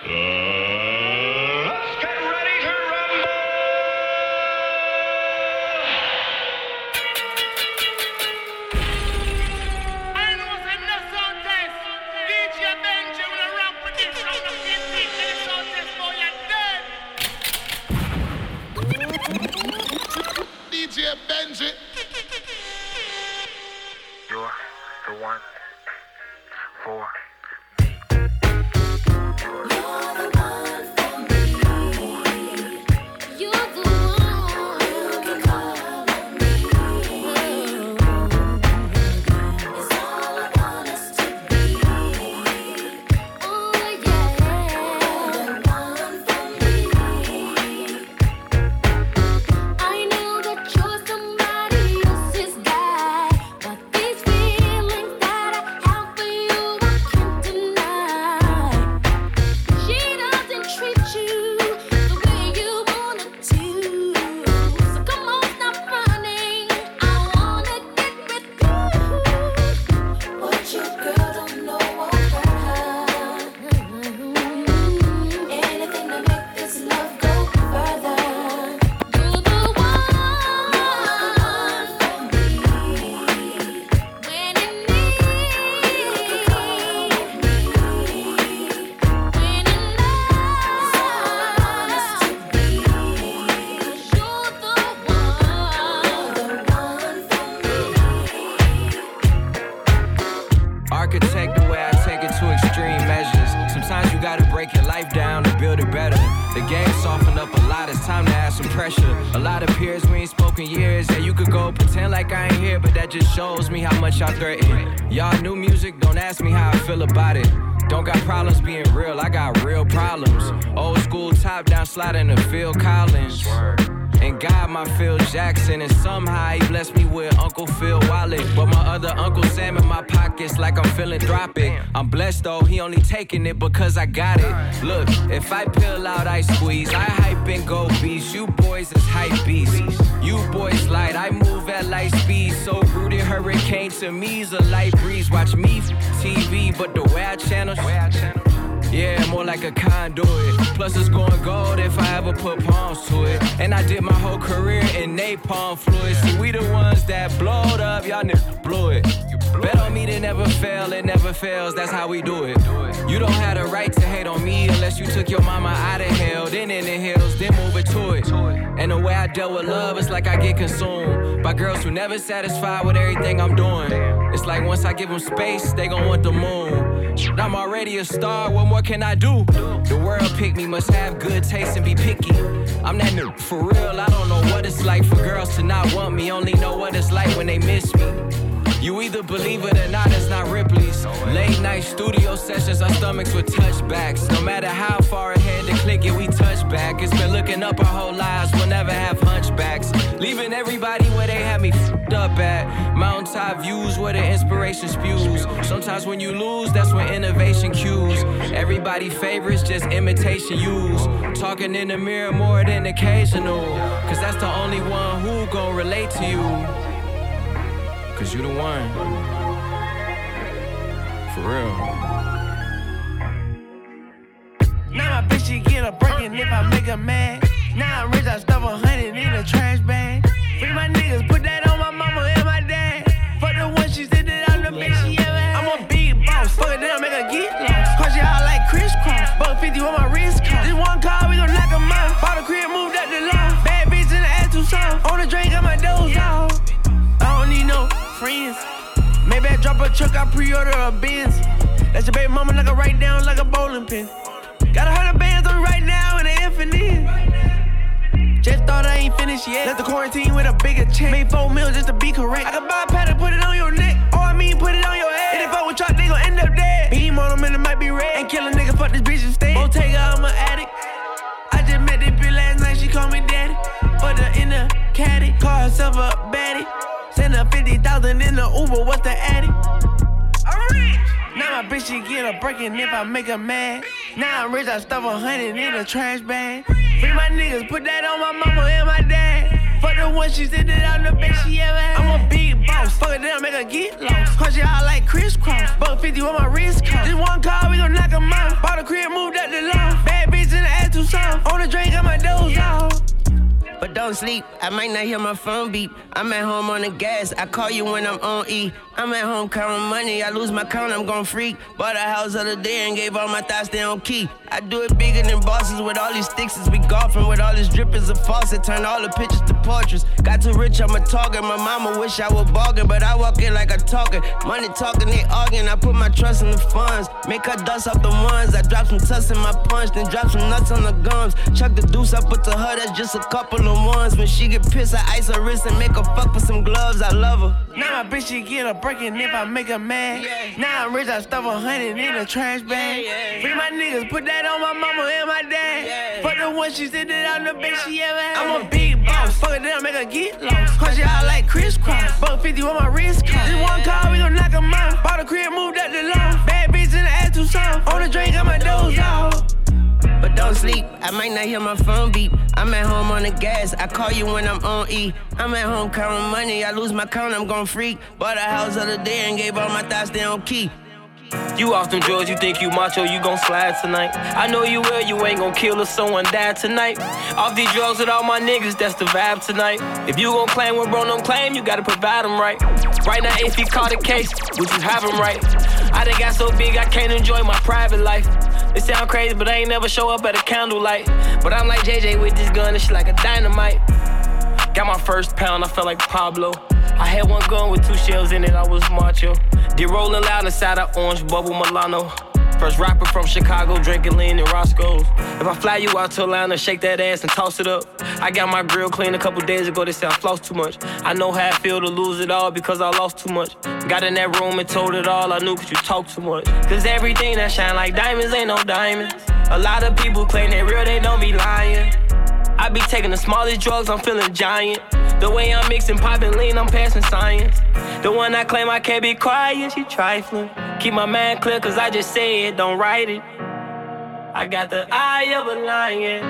Let's get ready to rumble! I know it's enough sound test. DJ Benji will rap with this round of 15 minutes sound test for you dead. DJ Benji. You're the one for architect the way I take it to extreme measures. Sometimes you gotta break your life down to build it better. The game softened up a lot, it's time to add some pressure. A lot of peers we ain't spoken years, and you could go pretend like I ain't here, but that just shows me how much y'all threaten. Y'all new music, don't ask me how I feel about it. Don't got problems being real, I got real problems. Old school top down sliding to Phil Collins. And God, my Phil Jackson, and somehow he blessed me with Uncle Phil wallet. But my other Uncle Sam in my pockets like I'm philanthropic. I'm blessed though, he only taking it because I got it. Look, if I peel out, I squeeze. I hype and go beast. You boys is hype beasts. You boys light, I move at light speed. So rooted hurricane to me's a light breeze. Watch me TV, but the way I channel. Yeah, more like a conduit. Plus it's going gold if I ever put palms to it. And I did my whole career in napalm fluid. See, we the ones that blowed up, y'all niggas blew it. Bet on me to never fail, it never fails, that's how we do it. You don't have the right to hate on me unless you took your mama out of hell. Then in the hills, then move it to it. And the way I dealt with love, it's like I get consumed by girls who never satisfied with everything I'm doing. It's like once I give them space, they gon' want the moon. I'm already a star, what more can I do? The world picked me, must have good taste and be picky. I'm that nigga, for real, I don't know what it's like for girls to not want me. Only know what it's like when they miss me. You either believe it or not, it's not Ripley's. Late night studio sessions, our stomachs with touchbacks. No matter how far ahead the click it, we touch back. It's been looking up our whole lives, we'll never have hunchbacks. Leaving everybody where they had me f***ed up at. Mountaintop views where the inspiration spews. Sometimes when you lose, that's when innovation cues. Everybody favorites, just imitation use. Talking in the mirror more than occasional. Cause that's the only one who gon' relate to you. Cause you the one. For real. Now my bitch, she get a breakin' if I make her mad. Now I'm rich, I stuff 100 in a trash bag. Free my niggas, put that on my mama and my dad. Fuck the one she said that I'm the bitch she ever had. I'm a big boss, fuck it down, make her get lost. Cause you out like crisscross, buck 50 on my wrist cost. This one car, we gon' knock 'em out. Bought a crib, moved up the lawn. Bad bitch in the ass too soft. On the drink, got my doze off. I don't need no friends. Maybe I drop a truck, I pre-order a Benz. That's your baby mama, knock her right down like a bowling pin. Got 100 bands on me right now in the infinite. Just thought I ain't finished yet. Left the quarantine with a bigger check. Made 4 mils just to be correct. I can buy a pattern, put it on your neck. Or I mean, put it on your head. If they fuck with truck, they gon' end up dead. Beam on them and it might be red. Ain't kill a nigga, fuck this bitch instead. Bottega, I'm an addict. I just met this bitch last night, she called me daddy. Put her in the caddy, call herself a baddie. Send her 50,000 in the Uber, what's the addy? I'm rich. Now my bitch, she get a breakin' if I make her mad. Now I'm rich, I stuff 100 in a trash bag. Free my niggas, put that on my mama and my dad. Fuck the one she said that I'm the bitch she ever had. I'm a big boss, fuck it down, make her get lost. Cause you out like crisscross, buck 50 on my wrist cost. This one car, we gon' knock 'em out. Bought a crib, moved up the lawn. soft. On the drink, got my doze off. But don't sleep, I might not hear my phone beep. I'm at home on the gas, I call you when I'm on E. I'm at home counting money, I lose my count, I'm gon' freak. Bought a house the other day and gave all my thoughts they on key. I do it bigger than bosses with all these sticks as we golfing. With all this drippers of faucet, turn all the pictures to portraits. Got too rich, I'm a talker, my mama wish I was bargain. But I walk in like a talker, money talking, they arguing. I put my trust in the funds, make her dust off the ones. I drop some tuss in my punch, then drop some nuts on the gums. Chuck the deuce, I put to her, that's just a couple of ones. When she get pissed, I ice her wrist and make her fuck with some gloves. I love her. Now my bitch, she get a breaking if I make her mad. Yeah. Now I'm rich, I stuff 100 in a trash bag. Yeah. Free my niggas, put that on my mama and my dad. Yeah. Fuck the one she said that I'm the best she ever had. I'm a big boss, fuck it down, make her get lost. Punch it out like crisscross, buck 50 on my wrist cross. This one call, we gon' knock 'em out. Bought a crib, moved up the lawn. Bad bitch in the ass too soft. On the drink, got my doze off. But don't sleep, I might not hear my phone beep. I'm at home on the gas, I call you when I'm on E. I'm at home counting money, I lose my count, I'm gon' freak. Bought a house the other day and gave all my thoughts they on key. You off them drugs, you think you macho, you gon' slide tonight. I know you will, you ain't gon' kill if someone died tonight. Off these drugs with all my niggas, that's the vibe tonight. If you gon' claim what bro don't claim, you gotta provide him right. Right now, if he caught a case, would you have him right? I done got so big, I can't enjoy my private life. It sound crazy, but I ain't never show up at a candlelight. But I'm like JJ with this gun, it's like a dynamite. Got my first pound, I felt like Pablo. I had one gun with 2 shells in it, I was macho. Did rolling loud inside of orange bubble Milano. First rapper from Chicago, drinking lean in Roscoe's. If I fly you out to Atlanta, shake that ass and toss it up. I got my grill clean a couple days ago, they say I floss too much. I know how I feel to lose it all because I lost too much. Got in that room and told it all I knew cause you talk too much. Cause everything that shine like diamonds ain't no diamonds. A lot of people claim they real, they don't be lying. I be taking the smallest drugs, I'm feeling giant. The way I'm mixing pop and lean, I'm passing science. The one I claim I can't be quiet, she trifling. Keep my mind clear cause I just say it, don't write it. I got the eye of a lion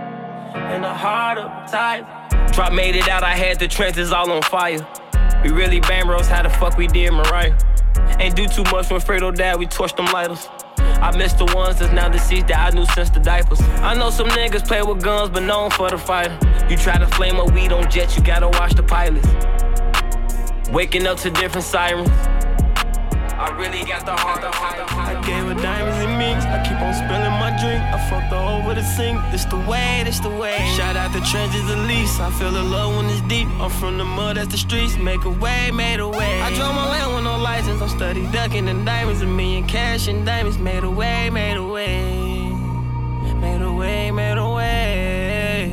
and the heart of a tiger. Drop made it out, I had the trenches all on fire. We really bang bros, how the fuck we did Mariah. Ain't do too much when Fredo died, we torched them lighters. I miss the ones that's now deceased that I knew since the diapers. I know some niggas play with guns, but known for the fighter. You try to flame a weed on jets, you gotta watch the pilots. Waking up to different sirens. I really got the heart. I gave her diamonds and minks. I keep on spilling my drink. I fucked her over the sink. This the way, this the way. Shout out the trenches at least. I feel the love when it's deep. I'm from the mud, that's the streets. Make a way, made a way. I drove my land with no license. I'm steady ducking in diamonds. $1 million cash in diamonds. Made a way, made a way. Made a way, made a way.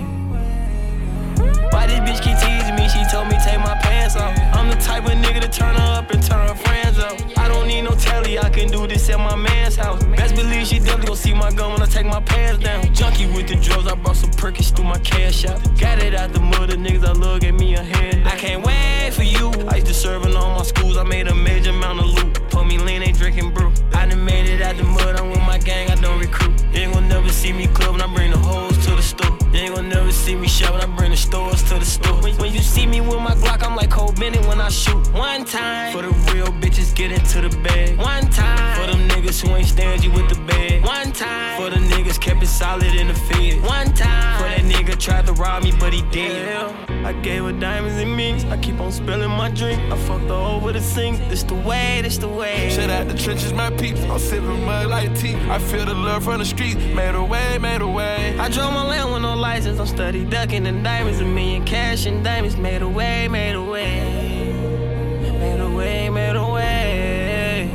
Why this bitch keep teasing me? She told me take my pants off. I'm the type of nigga to turn her up and turn her friends off. I don't need no telly, I can do this at my man's house. Best believe she definitely gon' see my gun when I take my pants down. Junkie with the drugs, I brought some Perkins through my cash out. Got it out the mud, the niggas I love gave me a hand down. I can't wait for you. I used to serve in all my schools, I made a major amount of loot. Put me lean, ain't drinking brew. I done made it out the mud, I'm with my gang, I don't recruit. You ain't gon' never see me clubbing, I bring the hoes to the store. You ain't gon' never see me shopping, I bring the stores to the store. When you see me with my Glock, I'm like Cole Bennett when I shoot. One time, for the real bitches, get into the bag. One time, for them niggas who ain't stingy with the bag. One time, for the niggas kept it solid in the field. One time, for that nigga tried to rob me, but he did. I gave her diamonds and minks. I keep on spilling my drink. I fucked her over the sink. This the way, this the way. Shut out the trenches, my peeps. I'm sipping mud like tea. I feel the love from the street. Made a way, made a way. I drove my land with no license. I'm steady ducking in diamonds. $1 million cash in diamonds. Made a way, made a way. Made a way, made a way.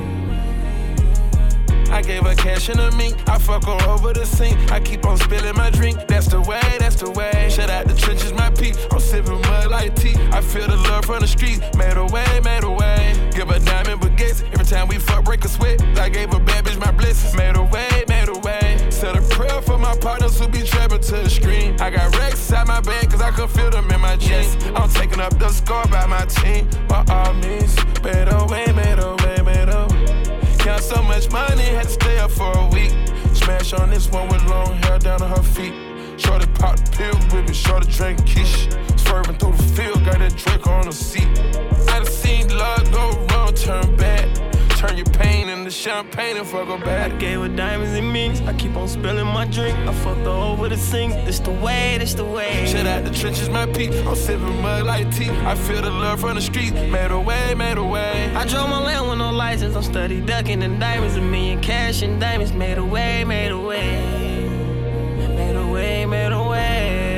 I gave her cash in a mink. I fuck her over the sink. I keep on spilling my drink. That's the way, that's the way. Shut out the trenches, my peeps. I'm sipping mud like tea. I feel the love from the street. Made a way, made a way. Give her diamond baguettes. Every time we fuck, break a sweat. I gave a bad bitch my blessings. Made a way, made a way. Said a prayer for my partners who be trapping to the screen. I got racks inside my bag cause I can feel them in my jeans. I'm taking up the score by my team. By all means, made a way, made a way, made a way. Count so much money, had to stay up for a week. Smash on this one with long hair down to her feet. Shorty pop the pill with me, shorty drink quiche. Swerving through the field, got that drink on the seat. I done seen love go wrong, turn bad. Turn your pain into champagne and fuck her back. I gave her diamonds and minks. I keep on spilling my drink. I fucked her over the sink. This the way, this the way. Shit out the trenches, my peak. I'm sipping mud like tea. I feel the love from the street. Made a way, made a way. I drove my land with no license. I'm steady ducking in diamonds. $1 million cash and diamonds. Made a way, made a way. Made a way, made a way.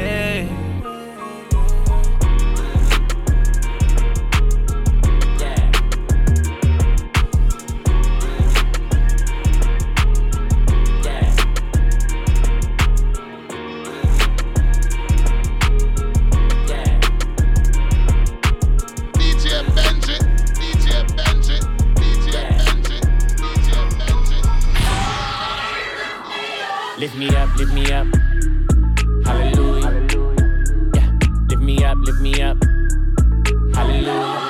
Lift me up, lift me up. Hallelujah. Yeah, lift me up, lift me up. Hallelujah.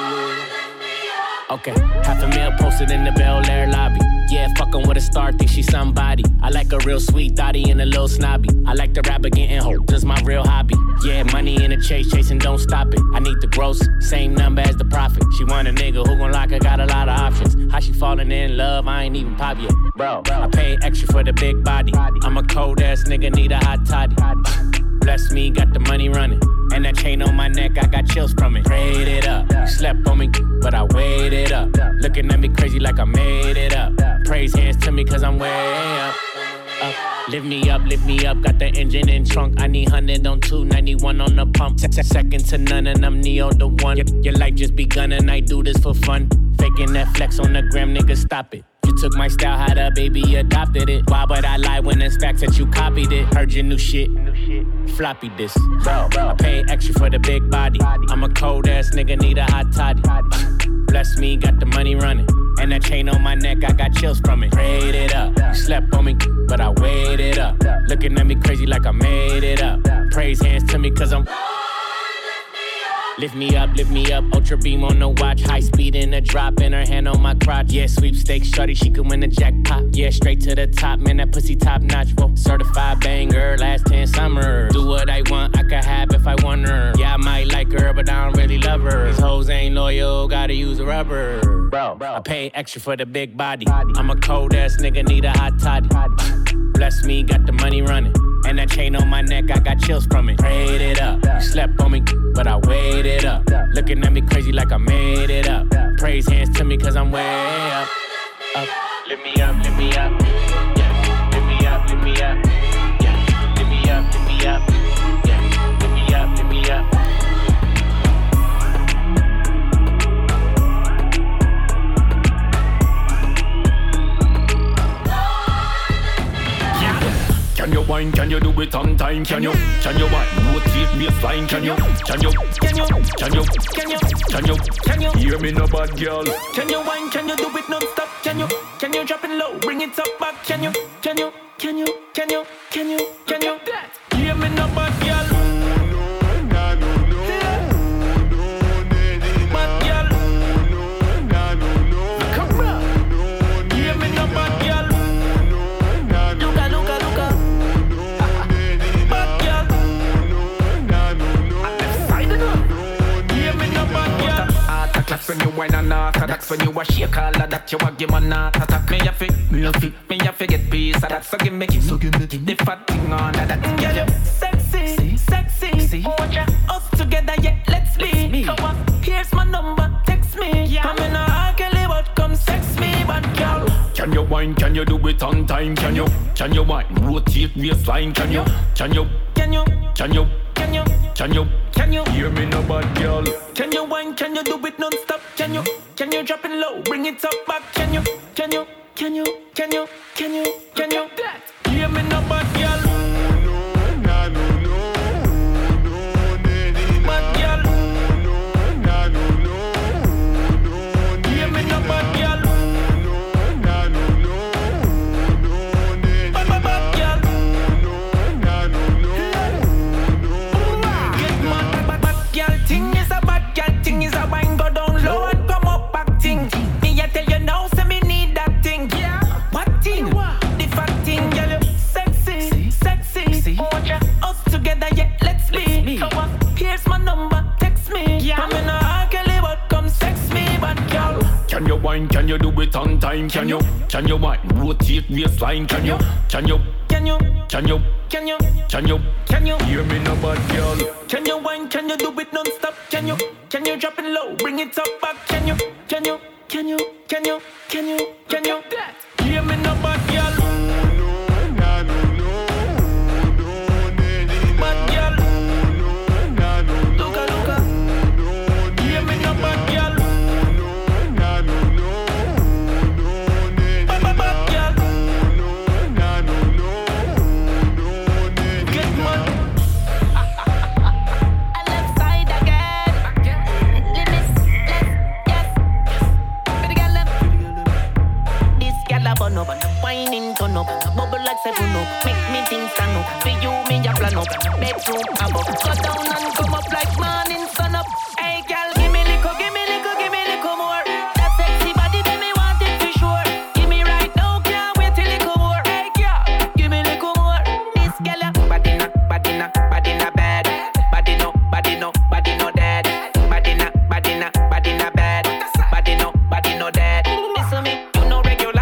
Okay, $500,000 posted in the Bel Air lobby. Yeah, fuckin' with a star, think she somebody. I like a real sweet thotty and a little snobby. I like the rapper getting hope, that's my real hobby. Yeah, money in the chase, chasing, don't stop it. I need the gross, same number as the profit. She want a nigga who gon' lock her, got a lot of options. How she falling in love, I ain't even pop yet. Bro, I pay extra for the big body. I'm a cold ass nigga, need a hot toddy. Bless me, got the money running. And that chain on my neck, I got chills from it. Prayed it up, you slept on me, but I waited up. Looking at me crazy like I made it up. Praise hands to me cause I'm way up. Lift me up, got the engine in trunk. I need 100 on 291 on the pump. Second to none and I'm Neo the one. Your life just begun and I do this for fun. Faking that flex on the gram, nigga, stop it. You took my style, how the baby adopted it. Why would I lie when it's facts that you copied it? Heard your new shit, floppy this. Bro, I pay extra for the big body. I'm a cold ass nigga, need a hot toddy. Bless me, got the money running. And that chain on my neck, I got chills from it. Prayed it up, you slept on me, but I waited up. Looking at me crazy like I made it up. Praise hands to me cause I'm... Lift me up, ultra beam on the watch. High speed in the drop, and her hand on my crotch. Yeah, sweepstakes, shorty, she could win the jackpot. Yeah, straight to the top, man, that pussy top notch. Whoa. Certified banger, last 10 summers. Do what I want, I could have if I want her. Yeah, I might like her, but I don't really love her. These hoes ain't loyal, gotta use a rubber. Bro, I pay extra for the big body. I'm a cold ass nigga, need a hot toddy. Bless me, got the money running. And that chain on my neck, I got chills from it. Prayed it up, you slept on me, but I waited up. Looking at me crazy like I made it up. Praise hands to me cause I'm way up. Lift me up, lift me up. Yeah, lift me up, lift me up. Yeah, lift me up, lift me up. Yeah, lift me up, lift me up. Can you wine? Can you do it on time? Can you wine? Rotate baseline? Can you hear me no bad girl? Can you wine? Can you do it non-stop? Can you drop it low? Bring it up back? Can you hear me no bad girl? That's when you whine and that's when you a shake all of that you a give man a attack. Me a fi get peace of that. So give me the fat thing on that. Girl you sexy. Watch us together, yeah, let's be. Come on, here's my number, text me. I'm in a ugly, but come sex me, but girl. Can you wine? Can you do it on time? Can you wine? Rotate baseline? Can you hear me no bad girl? Can you wine? Can you do it non-stop? Can you drop it low? Bring it up back? Can you hear me no bad girl? it on time. Can you wine, rotate waistline? Can you hear me no bad girl? Can you wine? Can you do it non-stop? Can you drop it low, bring it up back? Can you hear me no bad girl? Whining turn up, bubble like 7-up. Make me think stand up. For you, me ya plan up. Bedroom above. Go down and come up like morning sun up. Hey, girl, give me little more. That sexy body, then me want it for sure. Give me right now, can't wait till little more. Hey, girl, give me little more. This girl, body na bad. Body no dead. Body na bad. Body no dead. Listen me, you know regular.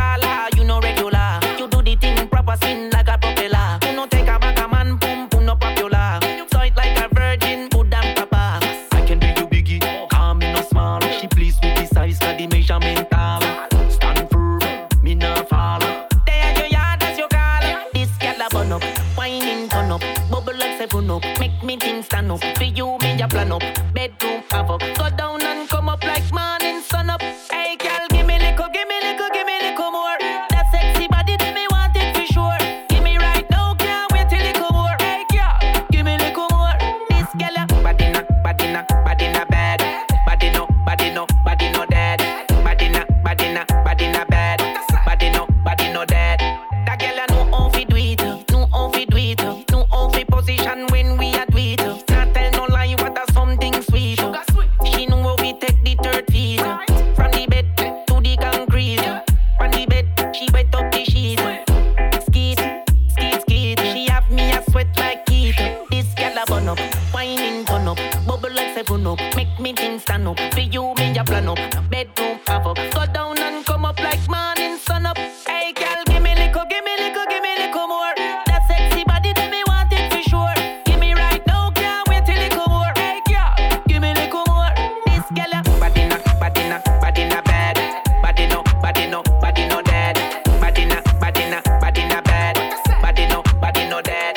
You do the thing proper, spin like a propeller. You know take a back a man, boom, no popular. So it like a virgin, put damn papa. I can do you biggie, calm me no small. She pleased with the size, cause the measurement tall. Stand firm, me no fall. There you are, that's your call. This girl a burn up, whining turn up, bubble like 7-up. Make me think stand up, for you me ya plan up. Bedroom havoc, go down and come up like morning sun up. Hey girl, give me little more. That sexy body, then me want it for sure. Give me right now, can't wait till little more. Hey girl, give me little more. This girl, body na bad. Body no dead. Body na bad. Body no dead. That girl know how fi do it, know how fi position when we a do it. Not tell no lie, what a something sweet. She know how we take the 3rd feet. From the bed to the concrete. From the bed, she wet up the sheet. Skeet. She have me a sweat like heat. This girl a burn up, whining turn up, bubble like 7-up. Make me think stand up, for you me a plan up. Bedroom havoc, go down and come up like morning sun up. Hey girl, give me little more. That sexy body, then me want it for sure. Give me right now, can't wait till little more. Hey girl, give me little more. This girl, body na bad. Body no dead. Body na bad. Body no dead.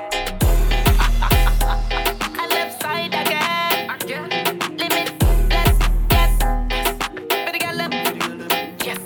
I left side again. Limitless, yes. Pretty girl, yes.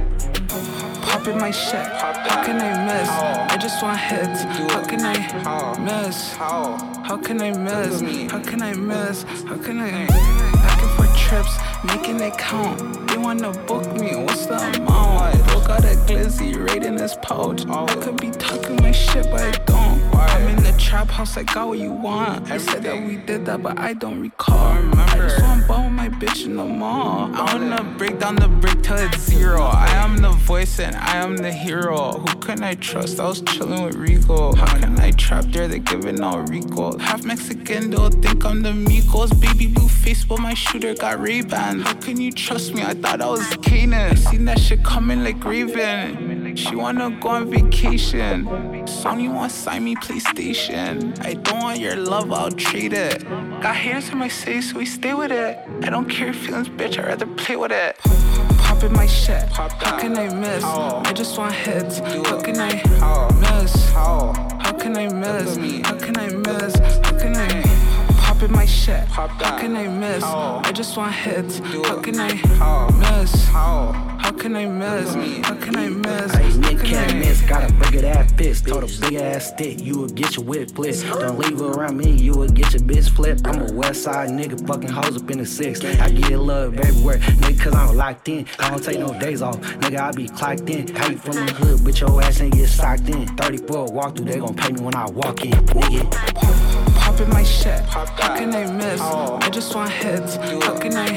Popping my shit. How can I miss? I just want hits. How can I miss? How can I miss? How can I miss? How can I? Asking for trips, making it count. They wanna book me. What's the amount? Broke out a glizzy right in his pouch. I could be talking my shit, but I don't. I'm in the trap house. I got what you want. I said that we did that, but I don't recall. I just want to bone my bitch in the mall. I wanna break down the brick till it's 0. I am the voice and I am the hero. Who can I trust? I was chilling with Rico. How can I trap there? They giving out Rico. Half Mexican, they'll think I'm the Migos. Baby blue face, but my shooter got Ray-Ban. How can you trust me? I thought I was Kanan. I seen that shit coming like Raven. She wanna go on vacation. Sony wanna sign me PlayStation. I don't want your love, I'll trade it. Got hairs in my face, so we stay with it. I don't care feelings, bitch, I'd rather play with it. Popping my shit, how can I miss? I just want hits, how can I miss? How can I miss? How can I miss? How can I popping my shit? How can I miss? I just want hits, how can I miss? How can I miss? How can I miss? Hey, Nick can't miss, got a big ass fist. Told a big ass stick, you will get your whip flipped. Don't leave her around me, you will get your bitch flipped. I'm a west side nigga, fucking hoes up in the 6. I get love everywhere, nigga, cause I'm locked in. I don't take no days off, nigga, I be clocked in. How you from the hood, but your ass ain't get socked in. 34 walk through, they gon' pay me when I walk in, nigga. Popping my shit, how can I miss? I just want hits, how can I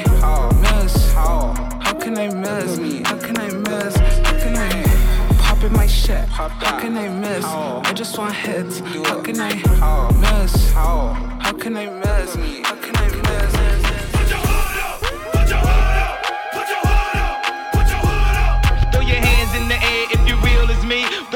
miss? How can I miss? How can I miss? How can I popping my shit? How can I miss? I just want hits, how can I miss? How can I miss? How can I miss? Put your hood up, put your hood up, put your hood up, put your hood up.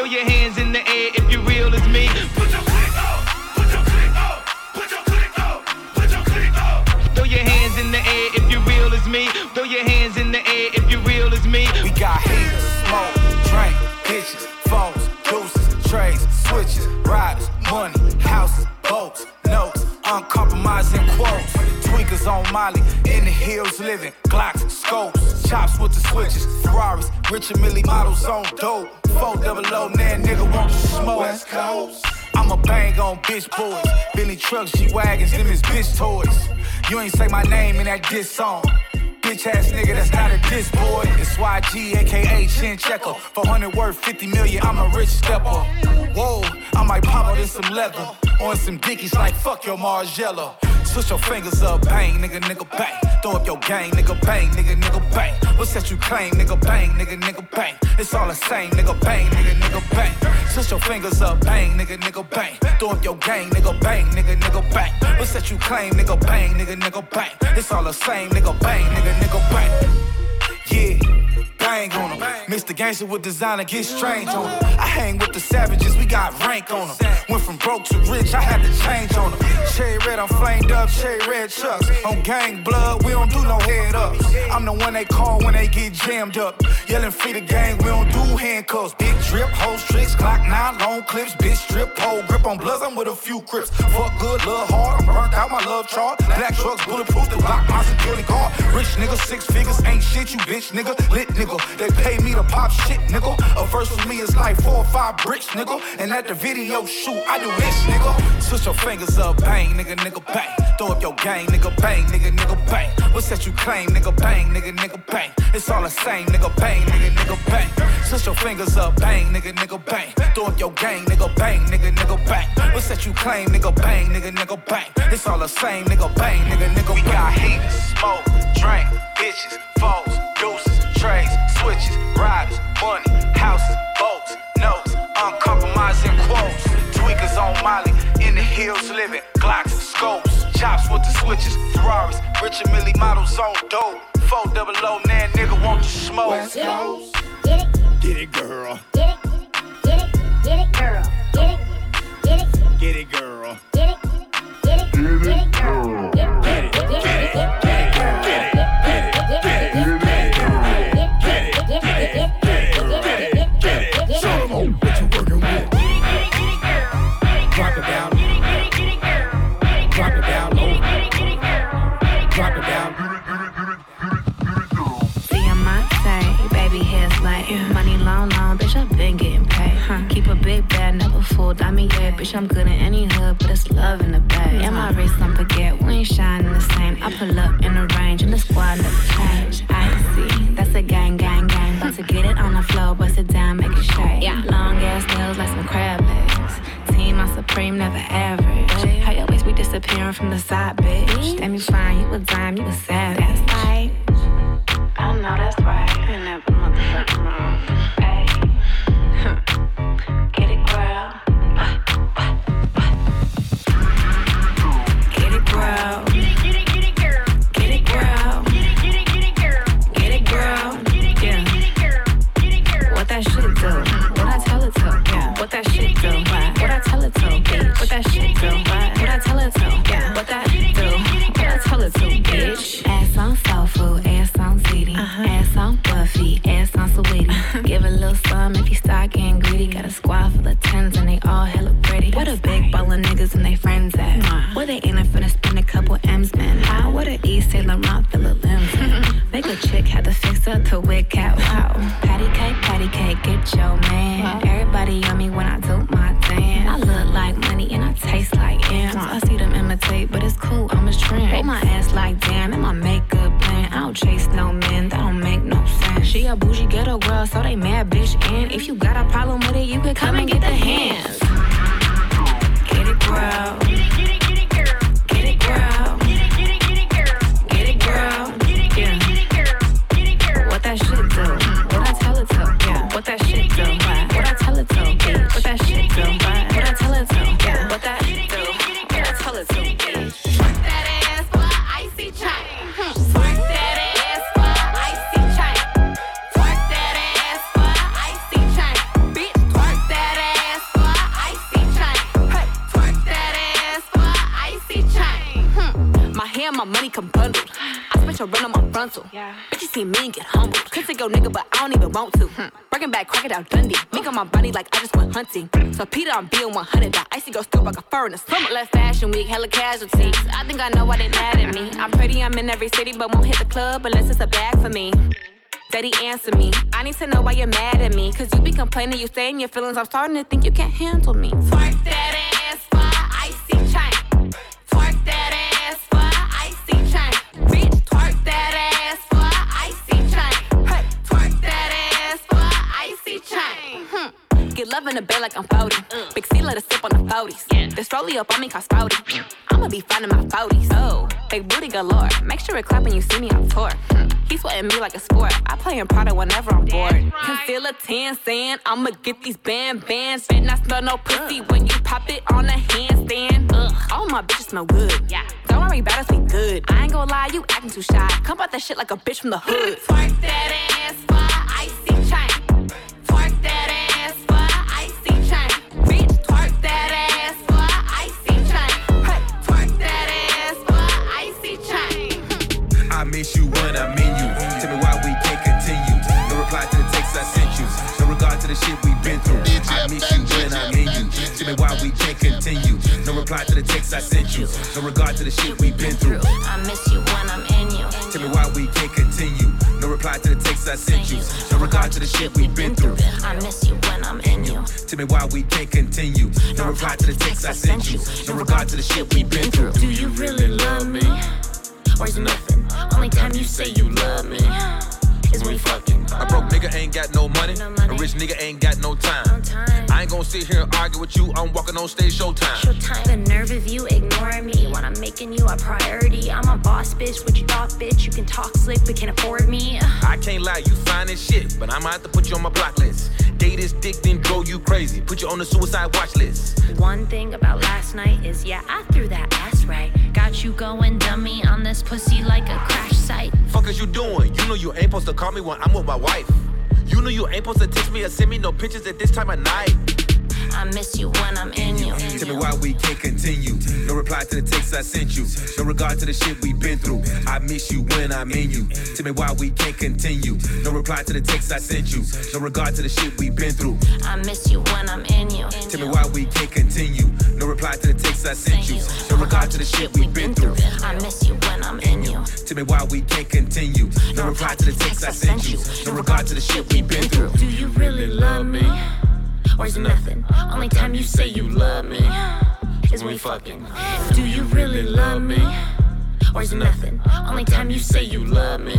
Throw your hands in the air if you real as me. Put your click up, put your click up, put your click up, put your click up. Throw your hands in the air if you real as me. Throw your hands in the air if you real as me. We got haters, smoke, drink, bitches, phones, deuces, trays, switches, riders, money, houses, boats, notes, uncompromising quotes. Tweakers on Molly, in the hills living, Glocks, scopes, chops with the switches, Ferraris, Richard Mille models on dope. 400, now nigga want to smoke. West Coast. I'ma bang on bitch boys, Billy trucks, G-Wagons, them is bitch toys. You ain't say my name in that diss song. Bitch ass nigga, that's not a diss boy. It's YG, aka Chin Checker. 400 worth 50 million, I'm a rich stepper. Whoa, I might pop out in some leather. On some dickies like fuck your Margiela. Switch your fingers up, bang, nigga, bang. Throw up your gang, nigga, bang, nigga, bang. What's that you claim, nigga, bang, nigga, bang. It's all the same, nigga, bang, nigga, bang. Switch your fingers up, bang, nigga, bang. Throw up your gang, nigga, bang, nigga, bang. What's that you claim, nigga, bang, nigga, bang. It's all the same, nigga, bang, nigga, bang. Yeah. Bang on them. Mix the gangster with designer, get strange on them. I hang with the savages, we got rank on them. Went from broke to rich, I had to change on them. Cherry red, I'm flamed up, cherry red chucks. On gang blood, we don't do no head ups. I'm the one they call when they get jammed up. Yelling free the gang, we don't do handcuffs. Big drip, whole tricks, Glock 9, long clips, bitch strip, pole grip on bloods, I'm with a few crips. Fuck good, love hard, I'm burnt out, my love chart. Black trucks, bulletproof, they block my security guard. Rich nigga, 6 figures, ain't shit, you bitch nigga. Lit nigga, they pay me to pop shit, nigga. A verse with me is like 4 or 5 bricks, nigga. And at the video shoot, I do this, nigga. Switch your fingers up, bang, nigga, bang. Throw up your gang, nigga, bang, nigga, bang. What's that you claim, nigga, bang, nigga, bang. It's all the same, nigga, bang, nigga, bang. Switch your fingers up, bang, nigga, bang. Throw up your gang, nigga, bang, nigga, bang. What's that you claim, nigga, bang, nigga, bang. It's all the same, nigga, bang, nigga, bang. We got haters, smoke, drink, bitches, foes, deuces, trays, switches, riders, money, houses, boats, notes, uncompromising quotes. Tweakers on Molly, in the hills living, Glocks, scopes, chops with the switches, Ferraris, Richard Mille models on dope. 400, now nigga want to smoke. West Coast. Get it, girl. Get it, girl. Get it, get it, girl. Get it, girl. Money long, bitch, I've been getting paid. Keep a big bag, never fooled. I mean, yeah, bitch, I'm good in any hood, but it's love in the bag. And my wrist, don't forget, we ain't shining the same. I pull up in the range, and the squad never change. I see, that's a gang. About to get it on the floor, bust it down, make it shake. Long ass nails like some crab legs. Team on Supreme, never average. How your waist be disappearing from the side, bitch? Damn, you fine, you a dime, you a savage. That's right. I know that's right. I never motherfucking wrong. Hey, get it, girl. Get it, girl. Get it, girl. Get it, girl. Get it, girl. Yeah. What that shit do? What I tell it to? Yeah. What that shit do? What I tell it to? Bitch. What that shit do? What I tell it to? Yeah. What that do? What I tell it to? Bitch. Ass on soul food. Ass on ziti. Ass on Buffy. Ass on sweetie. Give a little some if you start getting greedy. Got a squad full of 10s and they all hella pretty. What a big ball of niggas and they friends at? Where they ain't finna spend a couple M's, man. What a East Saint Laurent fill a limbs. Make a chick had to fix up the wig cat. Wow. Patty cake, get your man. Everybody on me when I do my dance. I look like money and I taste like M's. I see them imitate, but it's cool, I'm a trend. Hold my ass like damn, and my makeup plan. I don't chase no men, that don't make no sense. She a bougie ghetto girl, so they mad bitch. And if you got a problem with it, you could come and get the hands. Get it, girl. Get it, girl. Get it, girl. Get it, girl. Yeah. What that shit do? What I tell it to? Yeah. What that shit do? What I tell it to? Yeah. What that shit do? What I tell it to? Yeah. What that shit do? What I tell it to? Twerk that ass for an icy chain. Twerk that ass for an icy chain. Twerk that ass for an icy chain. Bitch, twerk that money come bundled. I spent your rent on my frontal. Yeah. Bitch, you see me and get humbled. Could take your nigga, but I don't even want to. Breaking back, Crocodile Dundee. Mink on my body like I just went hunting. So Peter, I'm being 100. That icy go still like a fur in the summer. Left fashion week, hella casualties. I think I know why they mad at me. I'm pretty, I'm in every city, but won't hit the club unless it's a bag for me. Daddy, answer me. I need to know why you're mad at me. Cause you be complaining, you stay in your feelings. I'm starting to think you can't handle me. Twerk that ass for icy chain. Twerk that ass for icy chain. Bitch, twerk that ass for icy chain. Hey, twerk that ass for icy chain. Get love in the bed like I'm 40. Big C let us sip on the 40s. This rollie up on me cause 40. I'ma be finding my 40s. Oh, big booty galore. Make sure it clap when you see me on tour. He sweating me like a sport. I play in Prada whenever I'm bored. Concealer 10 saying I'ma get these bands. Bet not smell no pussy when you pop it on a handstand. All my bitches smell good. Yeah. Don't worry about us, we good. I ain't gonna lie, you acting too shy. Come out that shit like a bitch from the hood. Twerk that ass for icy chain. Twerk that ass for icy chain. Bitch, twerk that ass for icy chain. Hey, twerk that ass for icy chain. I miss you when I'm in you. Tell me why we can't continue. No reply to the text I sent you. No regard to the shit we've been through. I miss you when I'm in you. Tell me why we can't continue. No reply to the text I sent you. No regard to the shit we've been through. I miss you when I'm in you. Tell me why we can't continue. No reply to the text I sent you. No regard to the shit we've been through. I miss you when I'm in you. Tell me why we can't continue. No reply to the text I sent you. No regard to the shit we've been through. Do you really love me? Or is nothing? Only time you say you love me is when we fucking. A broke nigga ain't got no money. A rich nigga ain't got no time. I ain't gon' sit here and argue with you. I'm walking on stage showtime. The nerve of you ignoring me when I'm making you a priority. I'm a boss bitch, what you thought, bitch? You can talk slick but can't afford me. I can't lie, you fine as shit, but I'ma have to put you on my block list. Date this dick, then drove you crazy. Put you on the suicide watch list. One thing about last night is, yeah, I threw that ass right. Got you going dummy on this pussy like a crash site. Fuck is you doing? You know you ain't supposed to call me when I'm with my wife. You know you ain't supposed to text me or send me no pictures at this time of night. I miss you when I'm in you. Tell me why we can't continue. No reply to the text I sent you. No regard to the shit we've been through. I miss you when I'm in you. Tell me why we can't continue. No reply to the text I sent you. No regard to the shit we've been through. I miss you when I'm in you. Tell me why we can't continue. No reply to the text I sent you. No regard to the shit we've been through. I miss you when I'm in you. Tell me why we can't continue. No reply to the text I sent you. No regard to the shit we've been through. Do you really love me? Or is nothing? Only time you say you love me is when we fucking. Do you really love me? Or is nothing? Only time you say you love me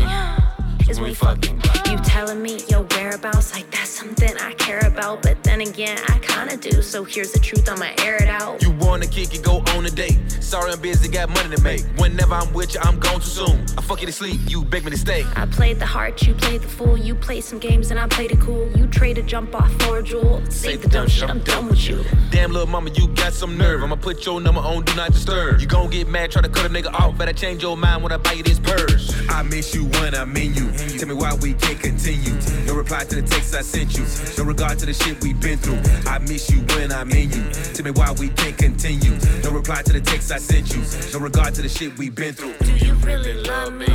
is when we fucking. You telling me your whereabouts, like that's something I care about. But then again, I kinda do, so here's the truth, I'ma air it out. You wanna kick it, go on a date. Sorry I'm busy, got money to make. Whenever I'm with you, I'm gone too soon. I fuck you to sleep, you beg me to stay. I played the heart, you played the fool. You played some games and I played it cool. You traded jump off for a jewel. Save the dumb shit, I'm done with you. Damn little mama, you got some nerve. I'ma put your number on Do Not Disturb. You gon' get mad, try to cut a nigga off. Better change your mind when I buy you this purse. I miss you when I'm in you. Tell me why we can't continue. No reply to the text I sent you. No regard to the shit we've been through. I miss you when I'm in you. Tell me why we can't continue. No reply to the text I sent you. No regard to the shit we've been through. Do you really love me?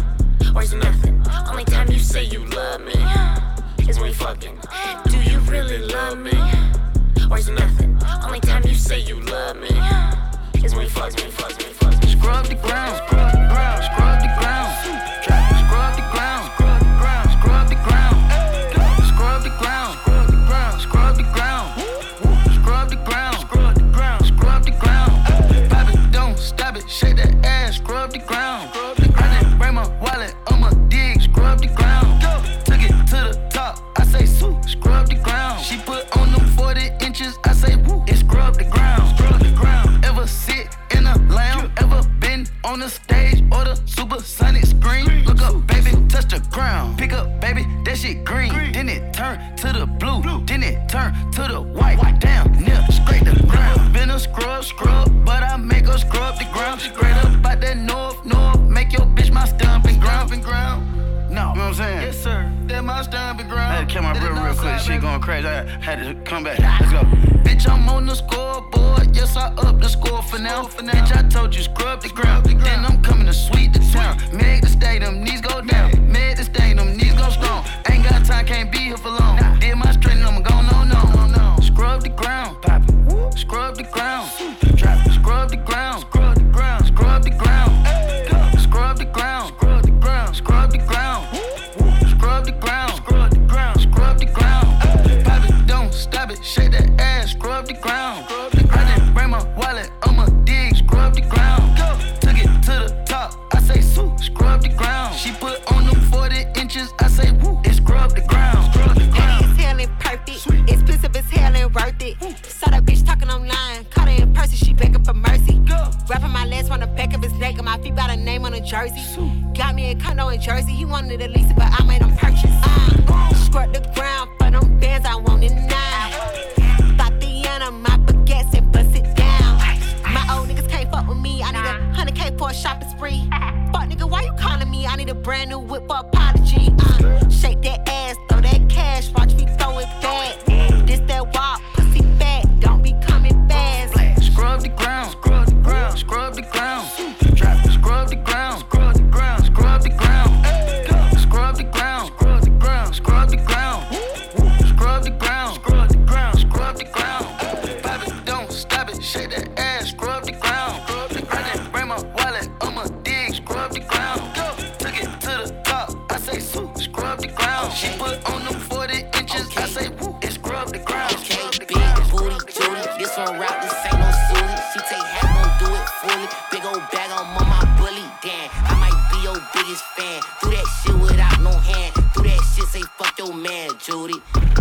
Or is nothing? Only time you say you love me is when we fucking. Do you really love me? Or is nothing? Only time you say you love me is when we fucking. Scrub the ground, scrub the ground, scrub the ground. Scrub the ground, scrub the ground, scrub the ground. Scrub the ground, scrub the ground, scrub the ground. Scrub the ground, scrub the ground, scrub the ground. Pop it, don't stop it, shake that ass, scrub the ground. I didn't bring my wallet, I'ma dig, scrub the ground. Took it to the top, I say sue, scrub the ground. She put on them 40 inches, I say woo, it scrub the ground, scrub the ground. Ever sit in a lamb, ever been on the stage or the supersonic screen? Look up, baby, touch the ground. Pick up, baby, that shit green. Then it turn to the blue. Then it turn to the white. Down, near, scrape the ground. Been a scrub, but I make her scrub the ground. Straight up by that north, make your bitch my stomping ground. No, you know what I'm saying? Yes, sir. That my stomping ground. I had to kill my real quick. She going crazy. crazy. I had to come back. Let's go. Bitch, I'm on the scoreboard. Yes, I up the score for now. Bitch, I told you scrub the ground. Then I'm coming to sweep the town. Make the stadium, knees go down. Make the stadium, knees go strong. Ain't got time, can't be here for long. Did my straight, I'm going no. Scrub the ground, scrub the ground. Scrub the ground, scrub the ground, scrub the ground. Scrub the ground, scrub the ground, scrub the ground. Scrub the ground, scrub the ground, scrub the ground. Pop it, don't stop it, shake that ass, scrub the ground. I didn't bring my wallet, I'ma dig, scrub the ground. Took it to the top, I say scrub the ground. She put on them 40 inches, I say woo, it's scrub the ground. It's hell and perfect, expensive as hell and worth it. Saw that bitch talking online, caught her in person, she begging for mercy. Wrapping my legs on the back of his neck, and my feet got a name on a jersey. Got me a condo in Jersey, he wanted to lease it, but I made him purchase. Scrub the ground for them bands, I want it now. Tatiana, my baguettes and bust it down. My old niggas can't fuck with me, I need a 100K for a shopping spree. Fuck nigga, why you calling me? I need a brand new whip for apology. Shake that ass, throw that cash, watch me throw it back. This that walk, pussy fat, don't be coming fast. Scrub the ground, scrub the ground, scrub the ground. Scrub the ground, scrub the ground, scrub the ground. Scrub the ground, scrub the ground, scrub the ground. Scrub the ground, scrub the ground, scrub the ground. Pop it, don't stop it, shake that ass, scrub the ground. I didn't bring my wallet, I'ma dig, scrub the ground. Took it to the top, I say scrub the ground. She put on them 40 inches, I say woo, it's scrub the ground. Okay, big booty, Judy, this one route, this ain't no Susie. She take half, gon' do it fully. Big old bag, I'm on my bully. Damn, I might be your biggest fan. Do that shit without no hand. Do that shit, say fuck your man, Judy.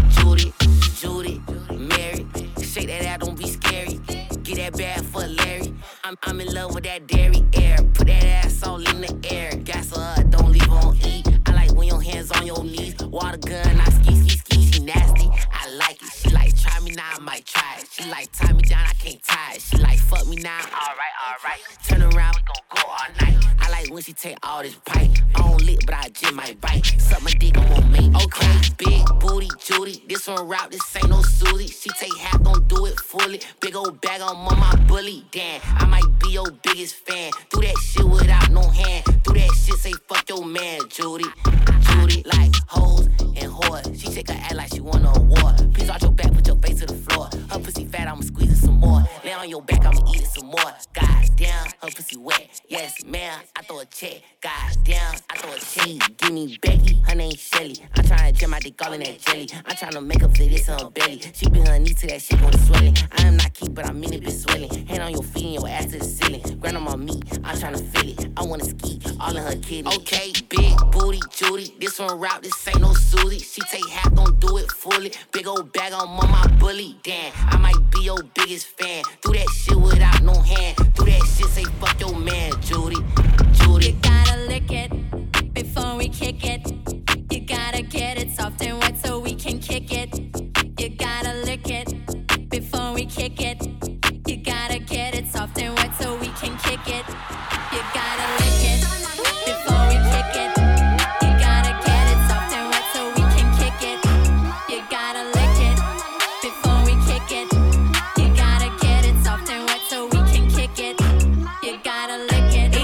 Judy, Mary. Shake that out, don't be scary. Get that bag for Larry. I'm in love with that dairy air. Put that ass all in the air. Gas her up, don't leave her on E. I like when your hands on your knees. Water gun, I ski. She nasty, I like it. She like try me now, I might try it. She like tie me down, I can't tie it. She like fuck me now, alright. Turn around, we gon' go all night. I like when she take all this pipe. I don't lick, but I just might bite. Suck my dick, I won't make me cry. Big booty, Judy, this one route, this ain't no Susie. She take half, gon' do it fully. Big old bag, I'm on my bully. Damn, I might be your biggest fan. Do that shit without no hand. Do that shit, say fuck your man, Judy, like hoes and whores. She shake her ass like she won an award. Please out your back, put your face to the floor. Her pussy fat, I'ma squeeze it some more. Lay on your back, I'ma eat it some more. God damn, her pussy wet. Yes, ma'am, I throw a check. God damn, I throw a check. Give me Becky, her name Shelly. I'm tryna jam my dick all in that jelly. I'm tryna make her fit this on her belly. She been her knee to that shit, gon' swelling. I am not cute, but I mean it, bitch swelling. Hand on your feet and your ass to the ceiling. Grind on my meat, I'm tryna feel it. I wanna ski, all in her kitty. Okay, big booty, Judy. This one route, this ain't no Susie. She take half, gon' do it fully. Big old bag, I'm on my bully. Damn, I might be your biggest fan. Do that shit without no hand. Do that shit, say fuck your man, Judy. You gotta lick it before we kick it. You gotta get it soft and wet so we can kick it. You gotta lick it before we kick it. You gotta get it soft and wet so we can kick it. You gotta lick it before we kick it. You gotta get it soft and wet so we can kick it. You gotta lick it before we kick it. You gotta get it soft and wet so we can kick it. You gotta lick it.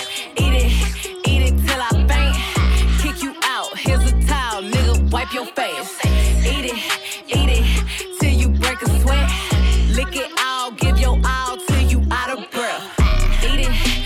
Eat it till I faint. Kick you out. Here's a towel, nigga. Wipe your face. Eat it till you break a sweat. Lick it all, give your all till you out of breath. Eat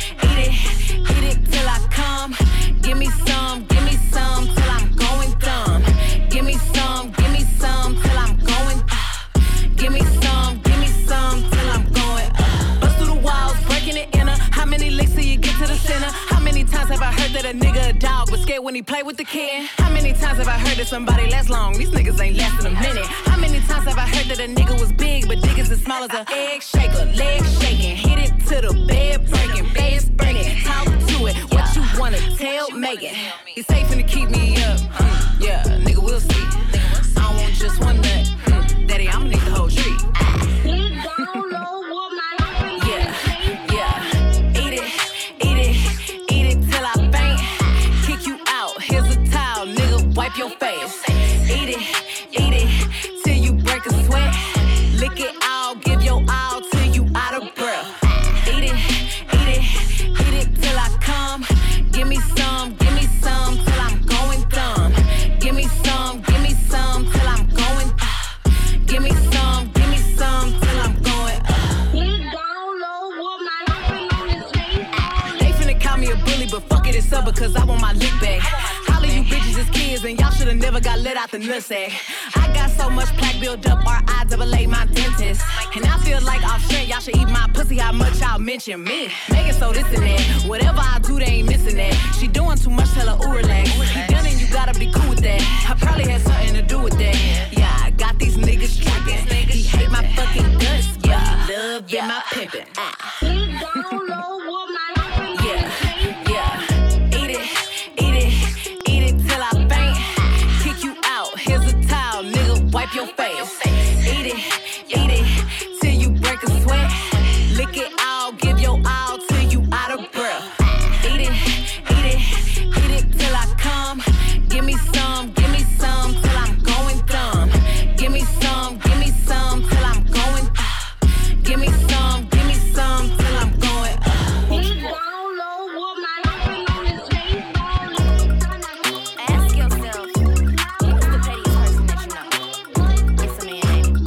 it till I come. Give me some till I'm going dumb. Give me some till I'm going. Give me some till I'm going. Bust through the walls, breaking it inner. How many licks till you get to the center? How many times have I heard that a nigga a dog was scared when he play with the kid? How many times have I heard that somebody lasts long? These niggas ain't lasting a minute. How many times have I heard that a nigga was big, but dick is as small as a egg shaker? Leg shaking, hit it to the bed breaking, bed sprinting, talk to it. What you wanna tell Megan? He's safe to keep me up. Yeah, nigga, we'll see. I don't want just one nut. Daddy, I'ma need the whole tree. Eat it till I faint. Kick you out. Here's a towel, nigga. Wipe your face. Eat it till this up because I want my lick back. Holly, you bitches is kids and y'all should've never got let out the nutsack. I got so much plaque built up, RIAA my dentist. And I feel like offshore, y'all should eat my pussy, how much y'all mention me. Make it so this and that, whatever I do, they ain't missing that. She doing too much, tell her ooh relax. You done and you gotta be cool with that. I probably had something to do with that. Yeah, I got these niggas tripping. He hate my fucking guts, but he love in my pimpin'. Wipe your face. Eat it till you break a sweat. Lick it all, give your all till you out of breath. Eat it till I come. Give me some till I'm going dumb. Give me some till I'm going. Give me some till I'm going. Ask yourself, who's the pettiest person that you know? It's a man, ain't